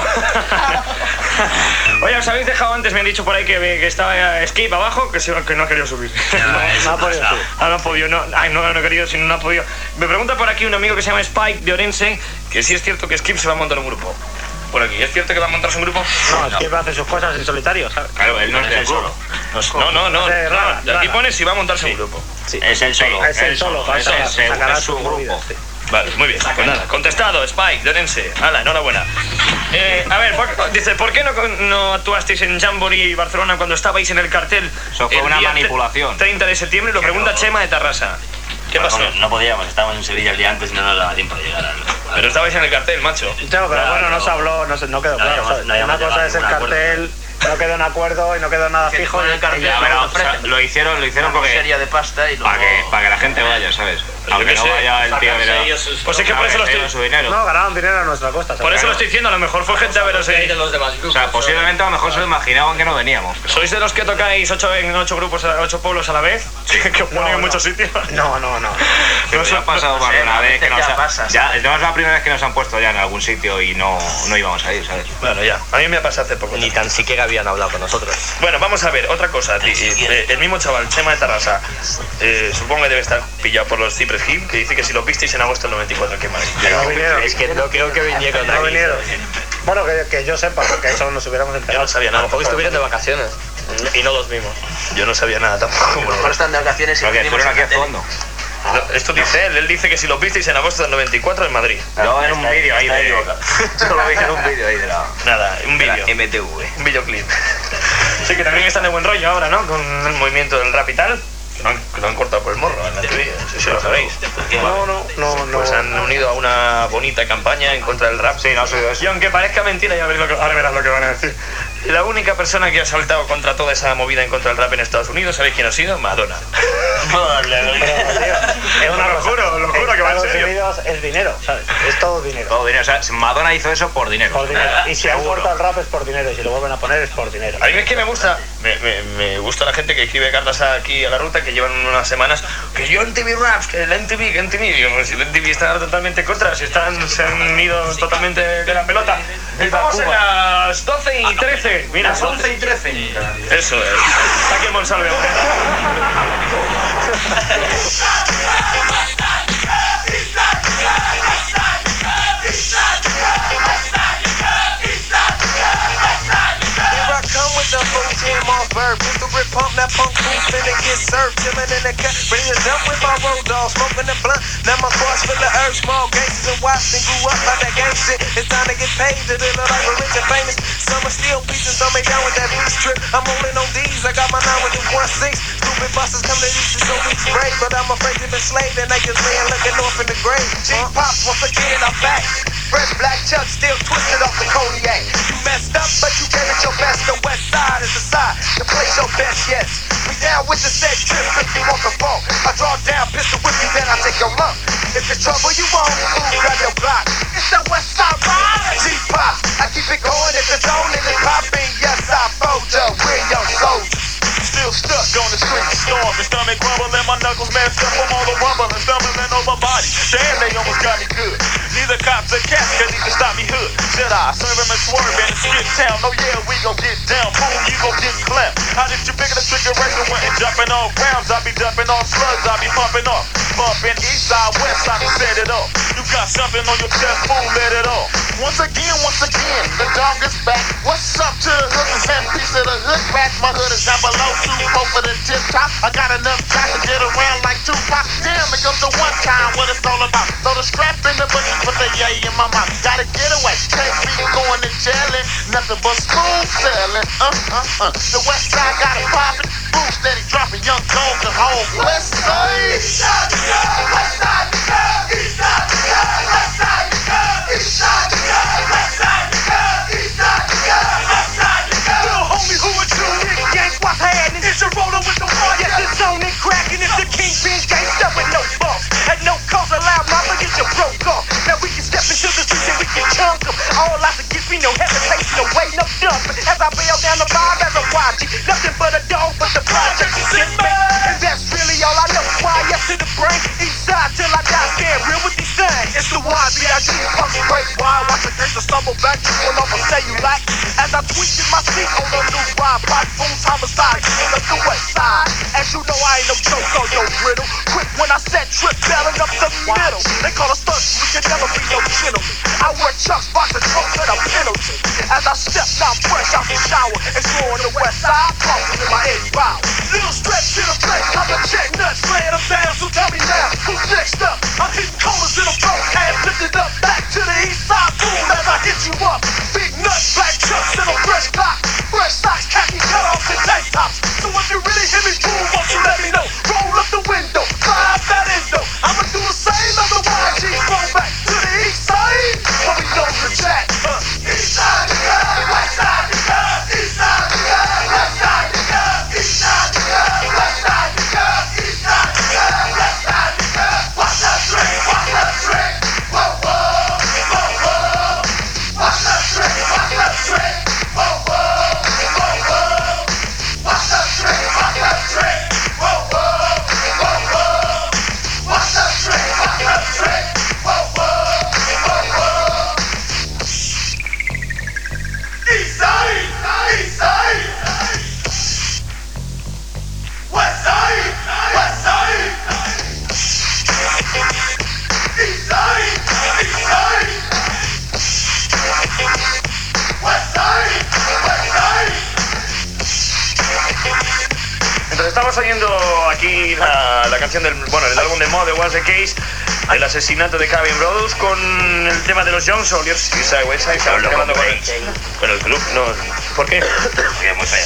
Oye, os habéis dejado antes, me han dicho por ahí que, que estaba Skip abajo, que, se, que no ha querido subir. No, no ha podido subir. Ah, no ha podido, no, ay, no, no ha querido, sino no ha podido. Me pregunta por aquí un amigo que se llama Spike de Orense, que sí es cierto que Skip se va a montar un grupo. Por aquí, ¿es cierto que va a montarse un grupo? No, no. Skip hace sus cosas en solitario, ¿sabes? Claro, él no es del solo. No, no, no. Hace rara, no. Aquí rara. pone si va a montarse un grupo. Sí. Es el solo. Es el solo, Es, saca- es, sacará es su su movida, grupo. sí. Vale, muy bien. Pues nada, contestado, Spike de Orense. Hala, enhorabuena. Eh, a ver, por- dice, ¿por qué no, no actuasteis en Jamboree Barcelona cuando estabais en el cartel? Eso fue el una día manipulación. treinta de septiembre, lo pregunta Chema de Tarrasa. ¿Qué Bueno, pasó? No, no podíamos, estábamos en Sevilla el día antes y no nos daba tiempo de llegar al... Pero estabais en el cartel, macho. No, pero Claro, bueno, no no. se habló, no, se, no quedó No claro. habíamos- ¿sabes? no habíamos Una cosa llegado a es el ningún cartel, no quedó en acuerdo y no quedó nada fijo. en el cartel, y ya, pero pero- ofrecen Lo hicieron, lo hicieron una porque... serie de pasta y luego... Para que, para que la gente vaya, ¿sabes? Aunque qué no sé, vaya el tío de la... Pues es que por eso lo estoy... su dinero. No, ganaron dinero a nuestra costa. Por eso lo estoy diciendo, a lo mejor fue gente a veros ahí. O sea, posiblemente a lo mejor se lo imaginaban que no veníamos. pero- ¿Sois de los que tocáis ocho, en ocho grupos, a- ocho pueblos a la vez? Sí. Que os ponen No, en no. muchos sitios. No, no, no. Que nos ha pasado más de una vez que nos ya ha... pasa, Ya, no es la primera vez que nos han puesto ya en algún sitio y no, no íbamos a ir, ¿sabes? Bueno, ya. A mí me ha pasado hace poco. Ni tan siquiera habían hablado con nosotros. Bueno, vamos a ver, otra cosa. ti- eh, El mismo chaval, Chema de Tarrasa, eh, supongo que debe estar pillado por los Cypress Hill, que dice que si lo visteis en agosto del noventa y cuatro, qué mal. No vinieron. Es que no creo que vinieron No aquí. vinieron. Bueno, que, que yo sepa, porque eso nos hubiéramos Yo enterado. no sabía A nada. lo mejor estuvieron de vacaciones y no los vimos. Yo no sabía nada tampoco. A lo mejor están de vacaciones y Porque venimos fueron a aquí a la tele. fondo. Esto dice él, él dice que si lo visteis en agosto del noventa y cuatro en Madrid. Yo en un vídeo ahí de... Yo lo vi en un vídeo ahí de la... Nada, un de la vídeo. M T V. Un videoclip. Sí, que también están de buen rollo ahora, ¿no? Con el movimiento del rap y tal. Que lo han, que lo han cortado por el morro en la T V, no sé si lo sabéis. No, no, no, no. Pues han unido a una bonita campaña en contra del rap. Sí, no ha sido eso. Y aunque parezca mentira, ya veréis lo que, ahora verás lo que van a decir. La única persona que ha saltado contra toda esa movida en contra del rap en Estados Unidos, ¿sabéis quién ha sido? Madonna. Es una Lo cosa. juro, lo juro que va en Estados serio. Unidos es dinero, ¿sabes? Es todo dinero. Todo dinero. O sea, Madonna hizo eso por dinero. Por dinero. Y si han Seguro. cortado el rap es por dinero. Y si lo vuelven a poner es por dinero. A mí es que me gusta, me, me, me gusta la gente que escribe cartas aquí a la ruta, que llevan unas semanas, que yo en T V Raps, que la N T V, que N T V, digo, pues si la N T V está totalmente contra, si están, se han ido totalmente de la pelota. Estamos en las doce y trece, mira, Las once y trece. eso es, está aquí el Monsalve. Here I come with the full jam off verb. Pistol grip pump, that punk fool finna get served. Chillin' in the cut, ready to jump with my road dog. Smoking the blunt, now my car's full of herbs. Small gangsters and watched and grew up by that gang shit. It's time to get paid to live a life of rich and famous. Some are still pieces, some ain't down with that beast trip. I'm rolling on these, I got my nine with the one six. Stupid busters come to these so we brave. But I'm afraid to be slaved and they just laying looking off in the grave. G pops, once again I'm back. Fresh black chuck still twisted off the Kodiak. You messed up, but you gave it your best. The west side is the side to place your best, yes. We down with the set trip if you want the ball. I draw down, pistol whip you, then I take your lump. If town. Oh yeah, we gon' get down. Boom, you gon' get clapped. How did you figure the trigger right and went and jumping off rounds? I be dumping off slugs, I be pumping off. Bumping east side, west side, to set it off. You got something on your chest, boom, let it off. Once again, once again, the dog is back. What's up to the hookers and piece of the hood back? My hood is down below, two four for the tip top. I got enough time to get around like Tupac. Damn, it comes the one time what it's all about. Throw the strap in the bushes with the yay in my mouth. Gotta get away, can't be going to jailin'. Nothing but smooth sailing. Uh, uh, uh. The west side got it poppin'. Boom, steady dropping, young gold the whole west side. East side, west side, east side, west side, east side, west side, east side, west side. Little homie, who are you? Nick Yank, what's happening? It's your roller with the one. Yes, it's on and cracking. It's the kingpin gangsta with no boss. At no cost, allow mama get your broke off. Now we can step into the streets and we can chunk them. All out to give me no hesitation, no waiting, no dumping. As I bail down the vibe as I watch it, nothing but a dog, but the project is in me. And that's really all I know. Why, yes to the brain, east side till I die, stand real with these things. It's the Y B I G, pump straight wide. Watch the gangsta stumble back, you will off and say you like. As I tweaked in my seat on the new ride, pipe booms, homicide, killing up the west side. As you know, I ain't no joke on no brittle. Quick when I set trip, bailing up the middle. They call us thugs, we can never be no gentlemen. I wear chucks, box and trunks at a penalty. As I step down fresh out the shower, exploring the west side, crossing in my edge bow. Little stretch in the place, I'm a check nuts, laying them down, so tell me now, who's next up? I'm hitting corners in a broke ass, lifted up back to the east side, boom, as I hit you up. Big nuts, black chucks, and a fresh clock. Fresh socks, khaki cutoffs, and tank tops. So if you really hear me, boom, won't you let me know? Roll up the window, climb that endo. I'ma do the same, otherwise G's roll back to the east side. But we know the jack. Uh, east side, yeah, west side, yeah, east side, yeah, west side, yeah, east side, yeah, west side, yeah, east side, yeah, west side, yeah. Watch that trick, watch that trick. Whoa, whoa, whoa, whoa. Watch that trick, watch that trick. Whoa, whoa, whoa, whoa. Watch that trick, watch that trick. Whoa, whoa, whoa, whoa. Watch that trick, watch that trick. Whoa, whoa, whoa, whoa. East side, east side. West side, west side. East side, east side. West side, west side. Entonces estamos oyendo aquí la, la canción del, bueno, del álbum de Mo, de What's the Case, el asesinato de Kevin Brodus, con el tema de los Young Soldiers, y Side West Side, estamos hablando con el, con el club, no, ¿por qué? Porque es muy feo.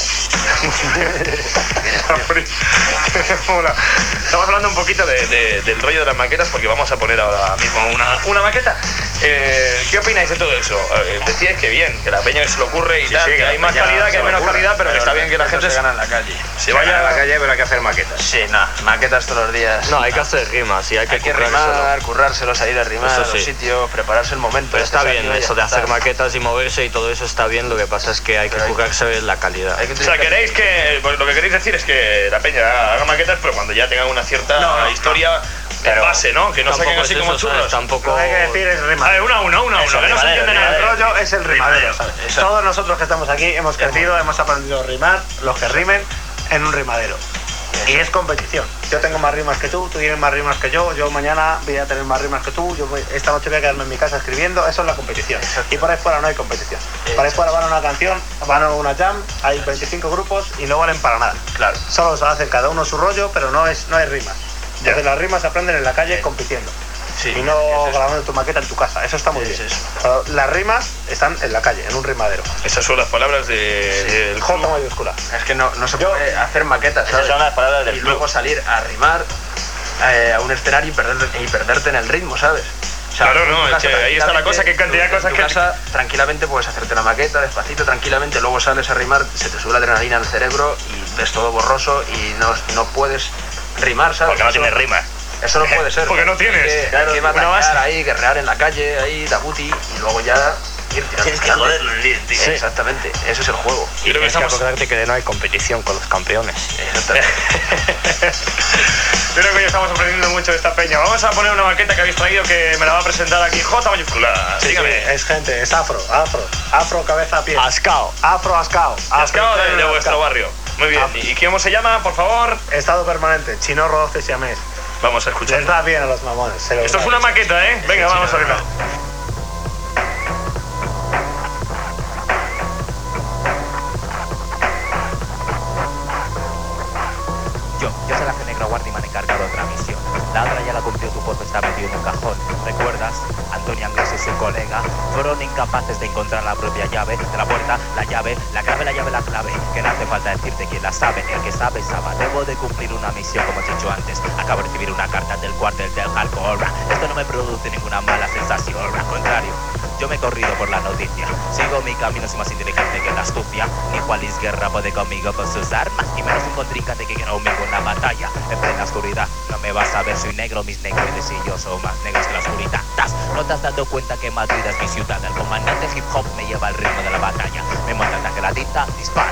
Hola. Estamos hablando un poquito de, de, del rollo de las maquetas, porque vamos a poner ahora mismo una, una maqueta. Eh, ¿Qué opináis de todo eso? Eh, decíais que bien, que la peña que se le ocurre y sí, tal, sí, que, que hay más calidad, que hay menos calidad, pero, pero que está bien que la gente se gana en la calle. Se vaya a la calle, pero hay que hacer maquetas. Sí, nada, maquetas todos los días. No, hay que hacer rimas y hay que, hay que rimar, currárselos, ahí de rimar a los sí. sitios, prepararse el momento. Pero está bien eso de hacer maquetas y moverse y todo eso está bien, lo que pasa es que hay que currarse la calidad. O sea, queréis que, pues, lo que queréis decir es que la peña haga maquetas, pero cuando ya tengan una cierta no, historia de base, ¿no? Que no saquen así como churros. ¿sabes? Tampoco... Lo que hay que decir es rimar. A ver, una, una, una, una, que no se entiende nada. El rollo es el rimadero, ¿sabes? Todos nosotros que estamos aquí hemos crecido, hemos aprendido a rimar, los que rimen, en un rimadero. Y es competición. Yo tengo más rimas que tú, tú tienes más rimas que yo, yo mañana voy a tener más rimas que tú, yo voy, esta noche voy a quedarme en mi casa escribiendo, eso es la competición. Exacto. Y por ahí fuera no hay competición. Exacto. Por ahí fuera van a una canción, van a una jam, hay veinticinco grupos y no valen para nada. Claro. Solo se hacen cada uno su rollo, pero no, es, no hay rimas. Entonces las rimas se aprenden en la calle compitiendo. Sí, y no grabando tu maqueta en tu casa, eso está muy bien. Es eso. Las rimas están en la calle, en un rimadero. Esas son las palabras de, sí. del J mayúscula. Es que no, no se Yo, puede hacer maquetas, ¿sabes? Esas son las palabras del y club. Luego salir a rimar eh, a un escenario y perderte, y perderte en el ritmo, ¿sabes? O sea, claro, no, es que ahí está la cosa, que cantidad de cosas en tu que... casa, tranquilamente puedes hacerte la maqueta, despacito, tranquilamente, luego sales a rimar, se te sube la adrenalina al cerebro y ves todo borroso y no, no puedes rimar, ¿sabes? Porque no tienes rimas. Eso no puede ser. Porque no tienes. Hay que, hay que batallar ahí, guerrear en la calle, ahí, dabuti, y luego ya ir tirando. Tienes que joderlo en el líder, tío. Sí. Exactamente, eso es el juego. Y tienes que acordarte que no hay competición con los campeones. Exactamente. Creo que hoy estamos aprendiendo mucho de esta peña. Vamos a poner una maqueta que habéis traído que me la va a presentar aquí J mayúscula. Sí, Dígame. sí, es gente, es afro, afro, afro, cabeza, pie. Ascao. Afro, ascao. Ascao de, de vuestro barrio. Muy bien. ¿Y cómo se llama, por favor? Estado permanente, Chino Rodoce Siamés. Vamos a escuchar. Les da bien a los mamones. Se Esto es una maqueta, ¿eh? Venga, vamos a verla. Yo, yo soy la G Negro Guardia y me han encargado otra misión. La otra ya la cumplió, tu puesto está metido en un cajón. ¿Recuerdas? Antonio Anglés y su colega fueron incapaces de encontrar la propia llave de la puerta, la llave, la clave, la llave, la clave. Que no hace falta decirte quién la sabe, el que sabe, sabe. Debo de cumplir una misión, como he dicho antes. Acabo de recibir una carta del cuartel del hardcore. Esto no me produce ninguna mala sensación, al contrario. Yo me he corrido por la noticia. Sigo mi camino, soy más inteligente que la astucia. Ni Juan Luis Guerra puede conmigo con sus armas, y menos un contrincante que quiera conmigo en la batalla. En plena oscuridad, no me vas a ver, soy negro, mis negroides y yo son más negros que la oscuridad. ¿No te has dado cuenta que Madrid es mi ciudad? El comandante hip hop me lleva al ritmo de la batalla. Me monta tanque, la tinta dispara.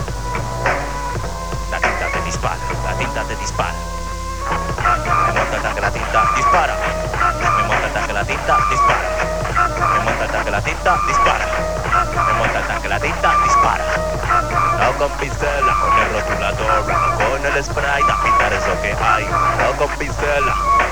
La tinta te dispara, la tinta te dispara. Me monta tanque, la tinta dispara. Me monta tanque, la tinta dispara. Me monta el tanque, la tinta dispara. Me monta el tanque, la tinta dispara. No con pincela, con el rotulador, no con el spray, a pintar es lo que hay. No con pincela.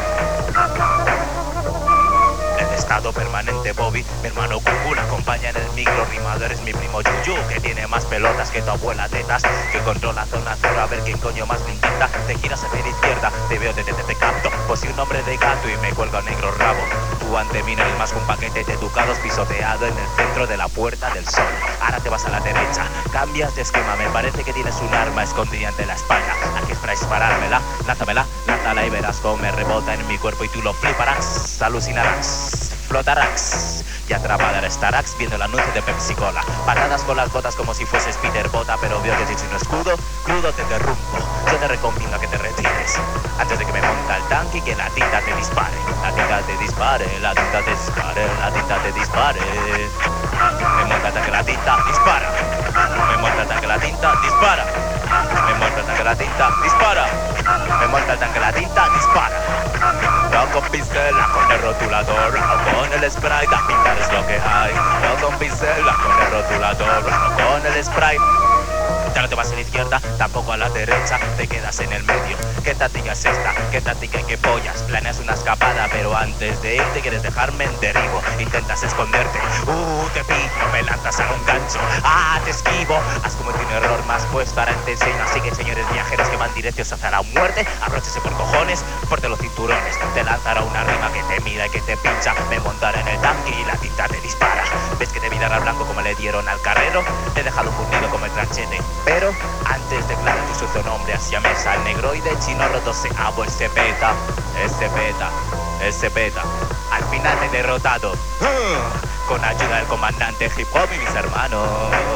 En estado permanente Bobby, mi hermano Cucú, la acompaña en el micro rimador, es mi primo Yuyu, que tiene más pelotas que tu abuela tetas, que controla zona cero, a ver quién coño más le intenta. Te giras hacia la izquierda, te veo, te, te, te capto, pues soy un hombre de gato y me cuelga un negro rabo. Tú ante mí no eres más que un paquete de ducados pisoteado en el centro de la Puerta del Sol. Ahora te vas a la derecha, cambias de esquema, me parece que tienes un arma escondida ante la espalda. Aquí es para disparármela, lánzamela, lánzala y verás cómo me rebota en mi cuerpo y tú lo fliparás, alucinarás, flotarás. Y atrapada estarás viendo el anuncio de Pepsi Cola. Patadas con las botas como si fueses Peter Bota, pero veo que si soy un escudo, crudo te derrumbo. Yo te recomiendo que te retires antes de que me monta el tanque y que la tinta te dispare. La tinta te dispare, la tinta te dispare, la tinta te dispare. Me monta el tanque, la tinta dispara. Me monta el tanque, la tinta dispara. Me monta el tanque, la tinta dispara. Me monta el tanque, la tinta dispara. No con pincela, con el rotulador, no con el spray, la pintar es lo que hay. No con pincela, con el rotulador, no con el spray. Ya no te vas a la izquierda, tampoco a la derecha, te quedas en el medio. ¿Qué táctica es esta? ¿Qué táctica y qué pollas? Planeas una escapada, pero antes de irte quieres dejarme en derribo. Intentas esconderte, uh, te pillo, me lanzas a un gancho. Ah, te esquivo, has cometido un error más puesto, ahora te enseño. Así que señores viajeros que van directos hacia la muerte, abróchese por cojones, porte los cinturones. Te lanzará una rima que te mira y que te pincha. Me montaré en el tanque y la tinta te dispara. ¿Ves que te vi dar al blanco como le dieron al carrero? Te he dejado fundido como el tranchete. Pero antes declara tu sucio nombre hacia mesa. El negroide chino roto se abo, el se peta, el se peta, el se peta. Al final te he derrotado uh, con ayuda del comandante hip hop y mis hermanos,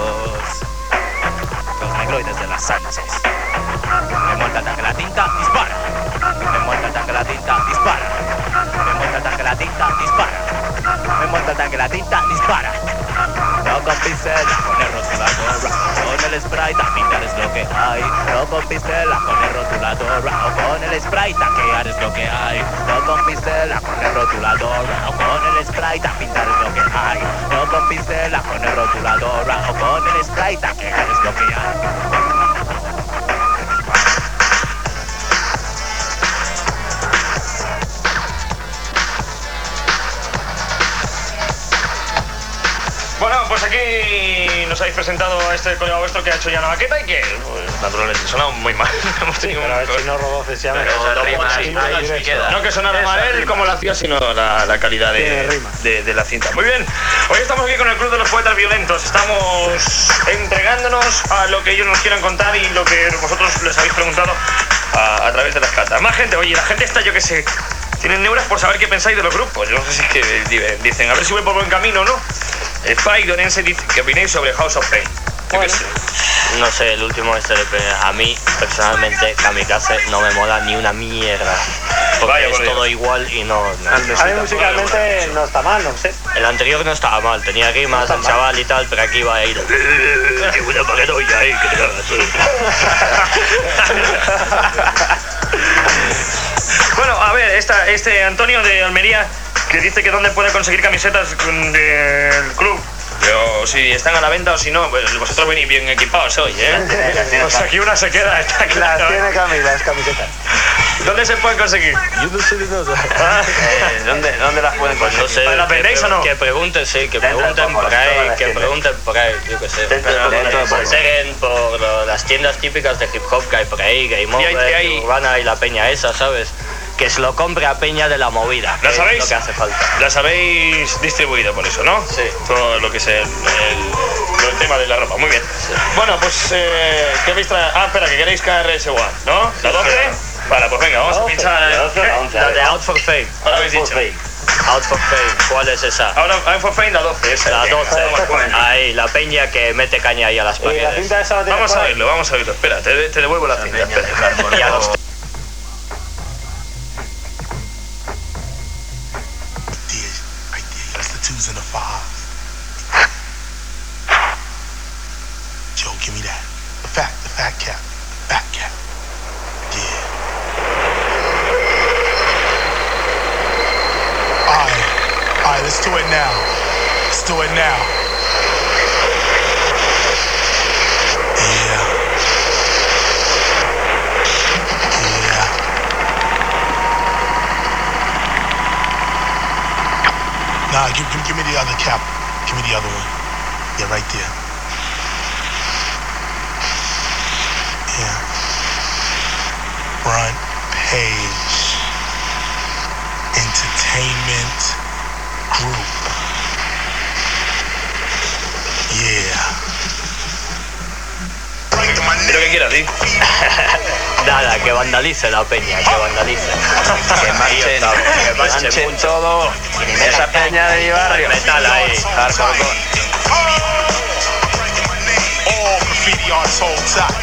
los negroides de las Sánchez. Me monta el tanque, la tinta dispara. Me monta el tanque, la tinta dispara. Me monta el tanque, la tinta dispara. Me monta el tanque, la tinta dispara. No con pincela, con el rotulador, con el spray, pintar es lo que hay. No con pincela, con el rotulador, o con el spray, taquear es lo que hay. No con pincela, con el rotulador, o con el spray, pintar es lo que hay. No con pincela, con el rotulador, o con el spray, taquear es lo que hay. Bueno, pues aquí nos habéis presentado a este colega vuestro que ha hecho ya una maqueta y que, pues, naturalmente, suena muy mal. Hemos tenido pero un... el chino Rodoce se llama. No que sonara mal él como lo hacía, sino la, la calidad de, de, de la cinta. Muy bien, hoy estamos aquí con el Club de los Poetas Violentos. Estamos entregándonos a lo que ellos nos quieran contar y lo que vosotros les habéis preguntado a, a través de las cartas. Más gente, oye, la gente está, yo que sé, tienen neuras por saber qué pensáis de los grupos. Yo no sé si es que dicen, a ver si voy por buen camino o no. El Spike Donense dice, ¿qué opináis sobre House of Pain? Bueno, no sé, el último S L P, a mí, personalmente, Kamikaze no me mola ni una mierda. porque Vaya, es por Dios. todo igual y no... no A mí musicalmente no está mal, no sé. El anterior no estaba mal, tenía rimas el chaval y tal, pero aquí va a ir... ¡Qué buena paranoia ahí, que te cagas! Bueno, a ver, esta, este Antonio de Almería que dice que dónde puede conseguir camisetas del club. Pero si están a la venta o si no, pues vosotros venís bien equipados hoy, ¿eh? O sea, aquí una se queda, está claro. Las tiene Cami, las camisetas. ¿Dónde se pueden conseguir? Yo no sé de nada. Eh, ¿dónde, ¿Dónde las pueden Pues conseguir? no sé, ¿las que, vendéis o no? que pregunten, sí, que Dentro de pregunten poco, por todas ahí, las que tiendas. pregunten por ahí, yo qué sé. Dentro de poco. Dentro de Dentro de poco. Seguen por lo- las tiendas típicas de hip hop que hay por ahí, Game Y hay- Over, y hay- Urbana y la peña esa, ¿sabes? Que se lo compre a peña de la movida, que ¿La es sabéis? lo que hace falta. Las habéis distribuido por eso, ¿no? Sí. Todo lo que es el, el- el tema de la ropa, muy bien. Bueno, pues, eh, ¿qué habéis traído? Ah, espera, que queréis K R S One, ¿no? ¿La doce? Vale, pues venga, vamos a pinchar. La doce o la ¿Qué? once. La de Out for Fame. Ahora habéis dicho. Out for Fame, ¿cuál es esa? Ahora, I'm for Fame, la doce, esa. La doce. Bueno. Ahí, la peña que mete caña ahí a las Y la paredes. cinta esa la tienes Vamos por a ahí. oírlo, vamos a oírlo. Espera, te, te devuelvo la cinta. Espera. Y a los Right there. That's the twos and the fives. Joe, give me that. The fat, the fat cap. Fat cap. Yeah. Alright. Alright, let's do it now. Let's do it now. Yeah. Yeah. Nah, give, give, give me the other cap. Give me the other one. Yeah, right there. Yeah. Front page. Entertainment group. Yeah. Di lo que quieras, di. Nada, que vandalice la peña, que vandalice. Que manchen, que manchen todo. Esa peña de mi barrio. Metal ahí. Hardcore. All graffiti artists hold tight.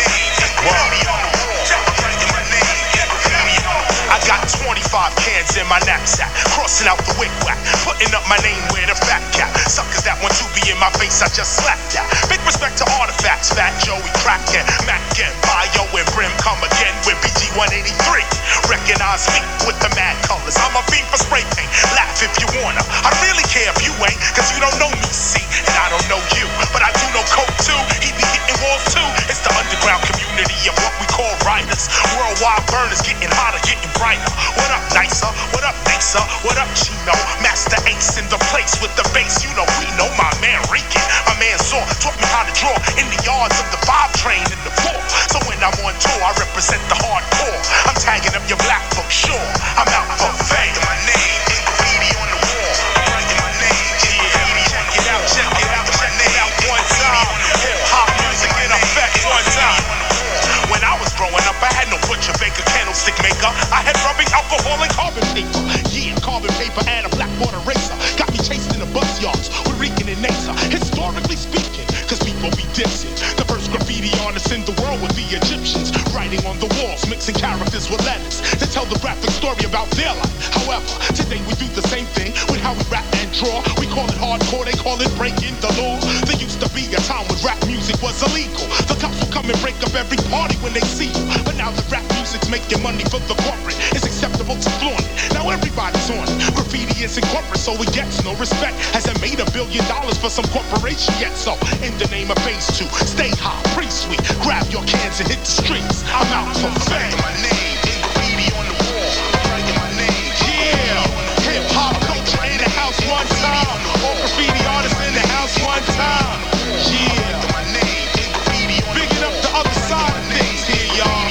I got twenty-five cans in my knapsack, crossing out the wig whack, putting up my name where the fat cap. Suckers that want to be in my face, I just slapped that. Big respect to artifacts, Fat Joey, Kraken, Mac and Bio and Brim come again with B G one eighty-three. Recognize me with the mad colors. I'm a fiend for spray paint. Laugh if you wanna. I really care if you ain't, cause you don't know me, see, and I don't know you. But I do know Coke too. He be hitting walls too. It's the underground community of what we call writers. Worldwide burners getting hotter, getting brighter. What up, Nicer? What up, Nicer? What up, Chino? Master Ace in the place with the bass. You know we know my man Rican. My man Saw taught me how to draw in the yards of the five train in the four. So when I'm on tour, I represent the hardcore. I'm tagging up your black book, sure. I'm out for fame. My name is graffiti on the wall. I'm writing my name. Yeah. Check it out, check it out, check it out one time. Hip hop music in effect one time. When I was growing up, I had no butcher, baker, candlestick maker. I had rubbing alcohol and carbon paper. Yeah, carbon paper and a blackboard eraser. Got me chased in the bus yards with Rican and Nasa. Historically speaking, cause people be dissing. The first graffiti artists in the world were the Egyptians. Writing on the walls, mixing characters with letters to tell the graphic story about their life. However, today we do the same thing with how we rap and draw. We call it hardcore, they call it breaking the law. There used to be a time when rap music was illegal. The cops would come and break up every party when they see you. But now that rap music's making money for the corporate, it's acceptable to flaunt it. Now everybody's on it. Graffiti isn't corporate, so it gets no respect. Hasn't made a billion dollars for some corporation yet. So in the name of phase two, stay high, pretty sweet. Grab your cans and hit the streets. I'm out for fame. My name is graffiti on the wall. I'm writing my name. Yeah, hip hop culture in the house one time. All graffiti artists in the house one time. Yeah, my name is graffiti on the wall. Bigging up the other side of things here, y'all.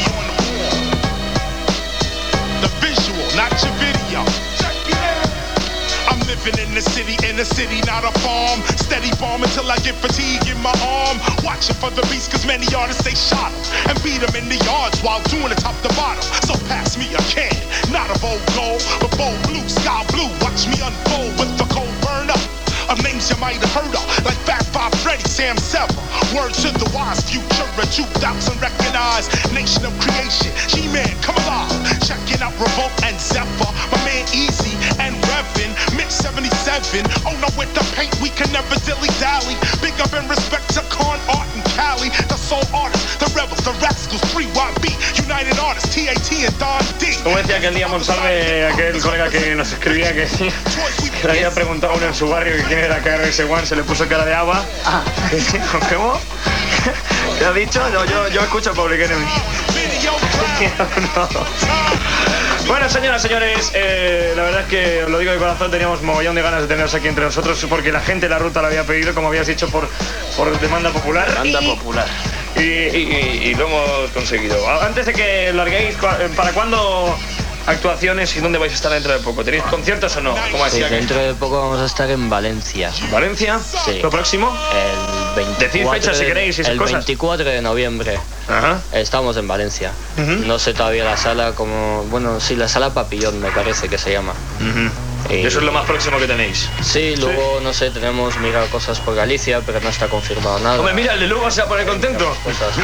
The visual, not your video. I'm living in the city, in the city, not a farm. Steady bomb until I get fatigue in my arm. Watching for the beast, cause many artists they shot him and beat him in the yards while doing it top to bottom. So pass me a can, not a bold gold, but bold blue, sky blue. Watch me unfold with the cold burn up of names you might have heard of, like Fat Five Freddy, Sam Sever. Word to the wise, future of two thousand recognized. Nation of creation, G-Man, come alive. Checking out Revolt and heaven. Oh no, with the paint we can never dilly-dally. Big up in respect to Con Art and Cali. The soul artists, the rebels, the rascals, three Y B, United Artists, T A T and Don D. Como decía aquel día Monsalve, aquel colega que nos escribía que, que le había preguntado a uno en su barrio que quién era K R S One, se le puso cara de agua. Ah. ¿Cómo? ¿Te ha dicho? No, yo, yo escucho a Public Enemy. No. Bueno, señoras, señores, eh, la verdad es que os lo digo de corazón, teníamos mogollón de ganas de teneros aquí entre nosotros porque la gente de la ruta lo había pedido, como habías dicho, por, por demanda popular. Demanda y, popular. Y, y, y lo hemos conseguido. Antes de que larguéis, ¿para cuándo actuaciones y dónde vais a estar dentro de poco? ¿Tenéis conciertos o no? ¿Cómo Sí, decía que- dentro de poco vamos a estar en Valencia. ¿Valencia? Sí. ¿Lo próximo? El veinticuatro Decid fechas si de- queréis y esas El cosas. veinticuatro de noviembre. Ajá. Estamos en Valencia. Ujú. No sé todavía la sala como... Bueno, sí, la sala Papillón me parece que se llama. Ujú. Y eso es lo más próximo que tenéis. Sí, luego, no sé, tenemos mirado cosas por Galicia, pero no está confirmado nada. Hombre, mira, el de Lugo se va a poner contento.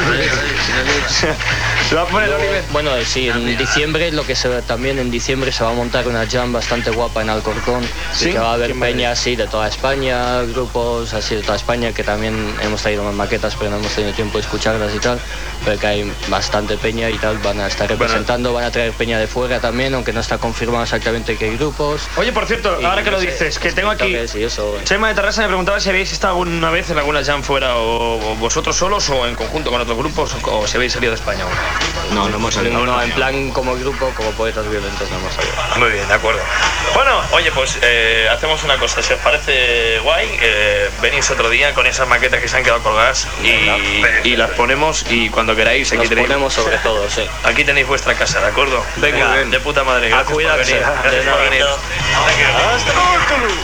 Se va a poner Luego, Oliver. bueno, sí, en diciembre, lo que se ve también en diciembre se va a montar una jam bastante guapa en Alcorcón. ¿Sí? Y que va a haber Qué maravilla. peña así de toda España, grupos así de toda España, que también hemos traído más maquetas, pero no hemos tenido tiempo de escucharlas y tal. Pero que hay bastante peña y tal, van a estar representando, van a traer peña de fuera también, aunque no está confirmado exactamente qué grupos. Oye, por cierto, Y ahora que no lo sé, dices, que tengo aquí... toques y eso. Chema de Terrassa me preguntaba si habéis estado alguna vez en alguna jam fuera o, o vosotros solos o en conjunto con otros grupos o, o si habéis salido de España aún. No, no hemos salido. No, en plan como grupo, como Poetas Violentos no hemos salido. Muy bien, de acuerdo. Bueno, oye, pues eh, hacemos una cosa, si os parece guay, eh, venís otro día con esas maquetas que se han quedado colgadas y, y las ponemos y cuando queráis aquí Nos tenéis... ponemos sobre todo, sí. Aquí tenéis vuestra casa, ¿de acuerdo? Venga, Muy bien. de puta madre. A Gracias por cuidarse. venir. Gracias De por nada. venir. Hasta luego.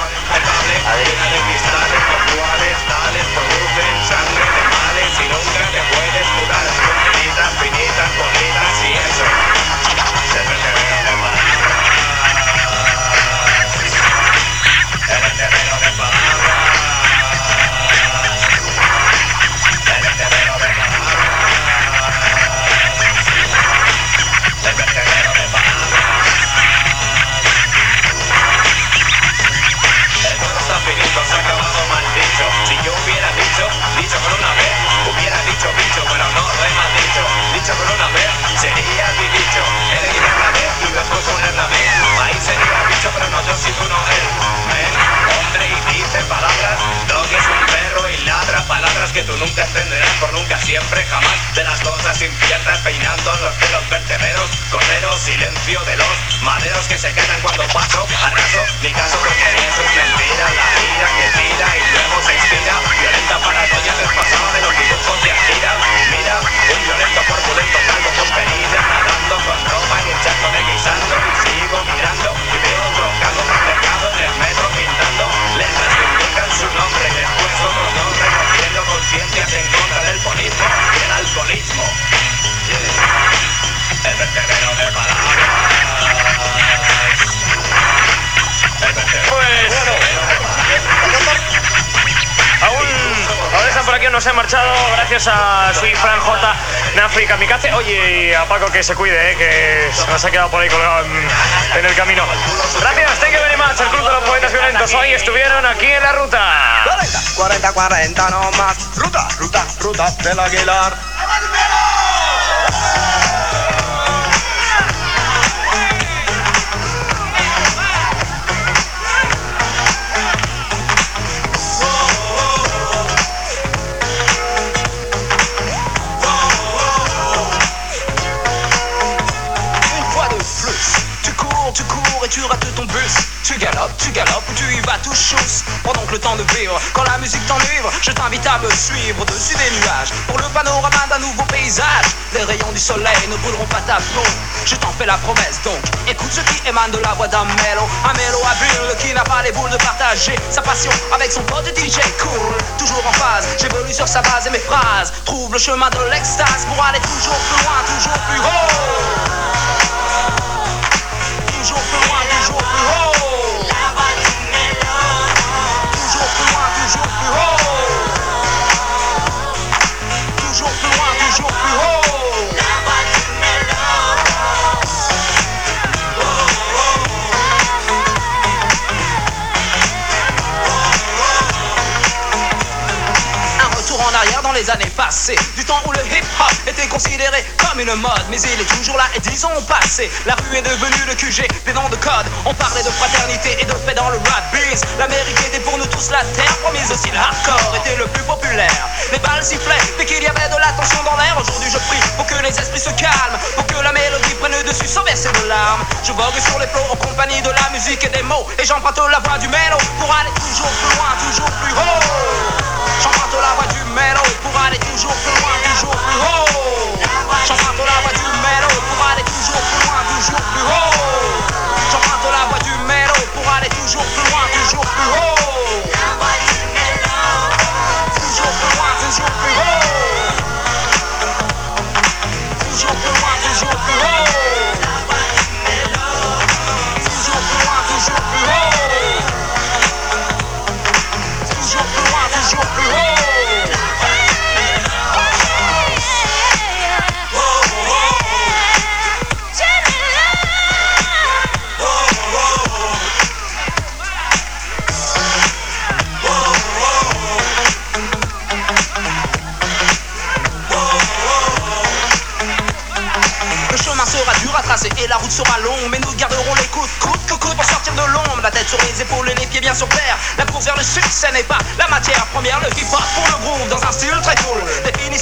Está finito, se ha acabado mal dicho. Si yo hubiera dicho, dicho con una vez, hubiera dicho bicho, pero no lo he mal dicho. Dicho con una vez, sería mi dicho. He de ir a la vez y después ponerla vez. Ahí sería bicho, pero no yo si tú no él. Men, hombre y dice palabras, lo que es un perro y ladra palabras que tú nunca entenderás por nunca, siempre, jamás. De las cosas inciertas, peinando los pelos vertederos, correro, silencio de los maderos que se quedan cuando paso, arraso, mi caso porque eso es mentira, la ira que tira y luego se expira, violenta paranoia despasada de los dibujos de Akira. Mira, un violento corpulento calvo con perilla, nadando con ropa en un charco de guisando y sigo mirando y veo otro calvo más cercado en el metro pintando letras que indican su nombre y después otros dos recogiendo conciencias en contra del polismo y el alcoholismo. Yeah. El vertedero de palabras. Pues... Aún, aún están por aquí, no se han marchado, gracias a Sui, Fran, J, Nafri, Kamikaze. Oye, y a Paco que se cuide, eh, que se nos ha quedado por ahí colgado en, en el camino. Gracias, thank you very much, el Club de los Poetas Violentos. Hoy estuvieron aquí en la ruta. cuarenta, cuarenta no más. Ruta, ruta, ruta del Aguilar. Une fois de plus, tu cours, tu cours et tu rates ton bus. Tu galopes, tu galopes ou tu y vas tout chousse. Pendant que le temps de vivre, quand la musique t'enivre, je t'invite à me suivre au-dessus des nuages. Pour le panorama d'un nouveau paysage, les rayons du soleil ne brûleront pas ta peau. Je t'en fais la promesse donc, écoute ce qui émane de la voix d'un mélo. Un mélo habile qui n'a pas les boules de partager sa passion avec son pote D J cool. Toujours en phase, j'évolue sur sa base et mes phrases trouvent le chemin de l'extase pour aller toujours plus loin, toujours plus haut. Toujours plus loin, toujours plus haut. Toujours plus loin, toujours plus haut. Toujours plus loin, toujours plus haut. temps où le hip-hop était considéré comme une mode, mais il est toujours là et dix ans ont passé. La rue est devenue le Q G, des noms de code. On parlait de fraternité et de paix dans le rap biz. L'Amérique était pour nous tous la terre promise, aussi le hardcore était le plus populaire. Les balles sifflaient dès qu'il y avait de la tension dans l'air. Aujourd'hui je prie pour que les esprits se calment, pour que la mélodie prenne le dessus sans verser de larmes. Je vogue sur les flots en compagnie de la musique et des mots, et j'emprunte la voix du mélo pour aller toujours plus loin, toujours plus haut. J'emprunte la voix du mélo pour aller toujours plus loin, toujours plus haut. J'emprunte la voix du mélo pour aller toujours plus loin, toujours plus haut. J'emprunte la voix du mélo pour aller toujours plus loin, toujours plus haut. Toujours plus loin, toujours plus haut. Toujours plus loin, toujours plus haut. Toujours plus loin, toujours plus haut. Toujours plus loin, toujours plus haut. Sera dur à tracer et la route sera longue, mais nous garderons les coudes, coudes, coudes pour sortir de l'ombre. La tête sur les épaules et les pieds bien sur terre. La course vers le succès n'est pas la matière première. Le hip-hop pour le groove dans un style très cool. Défini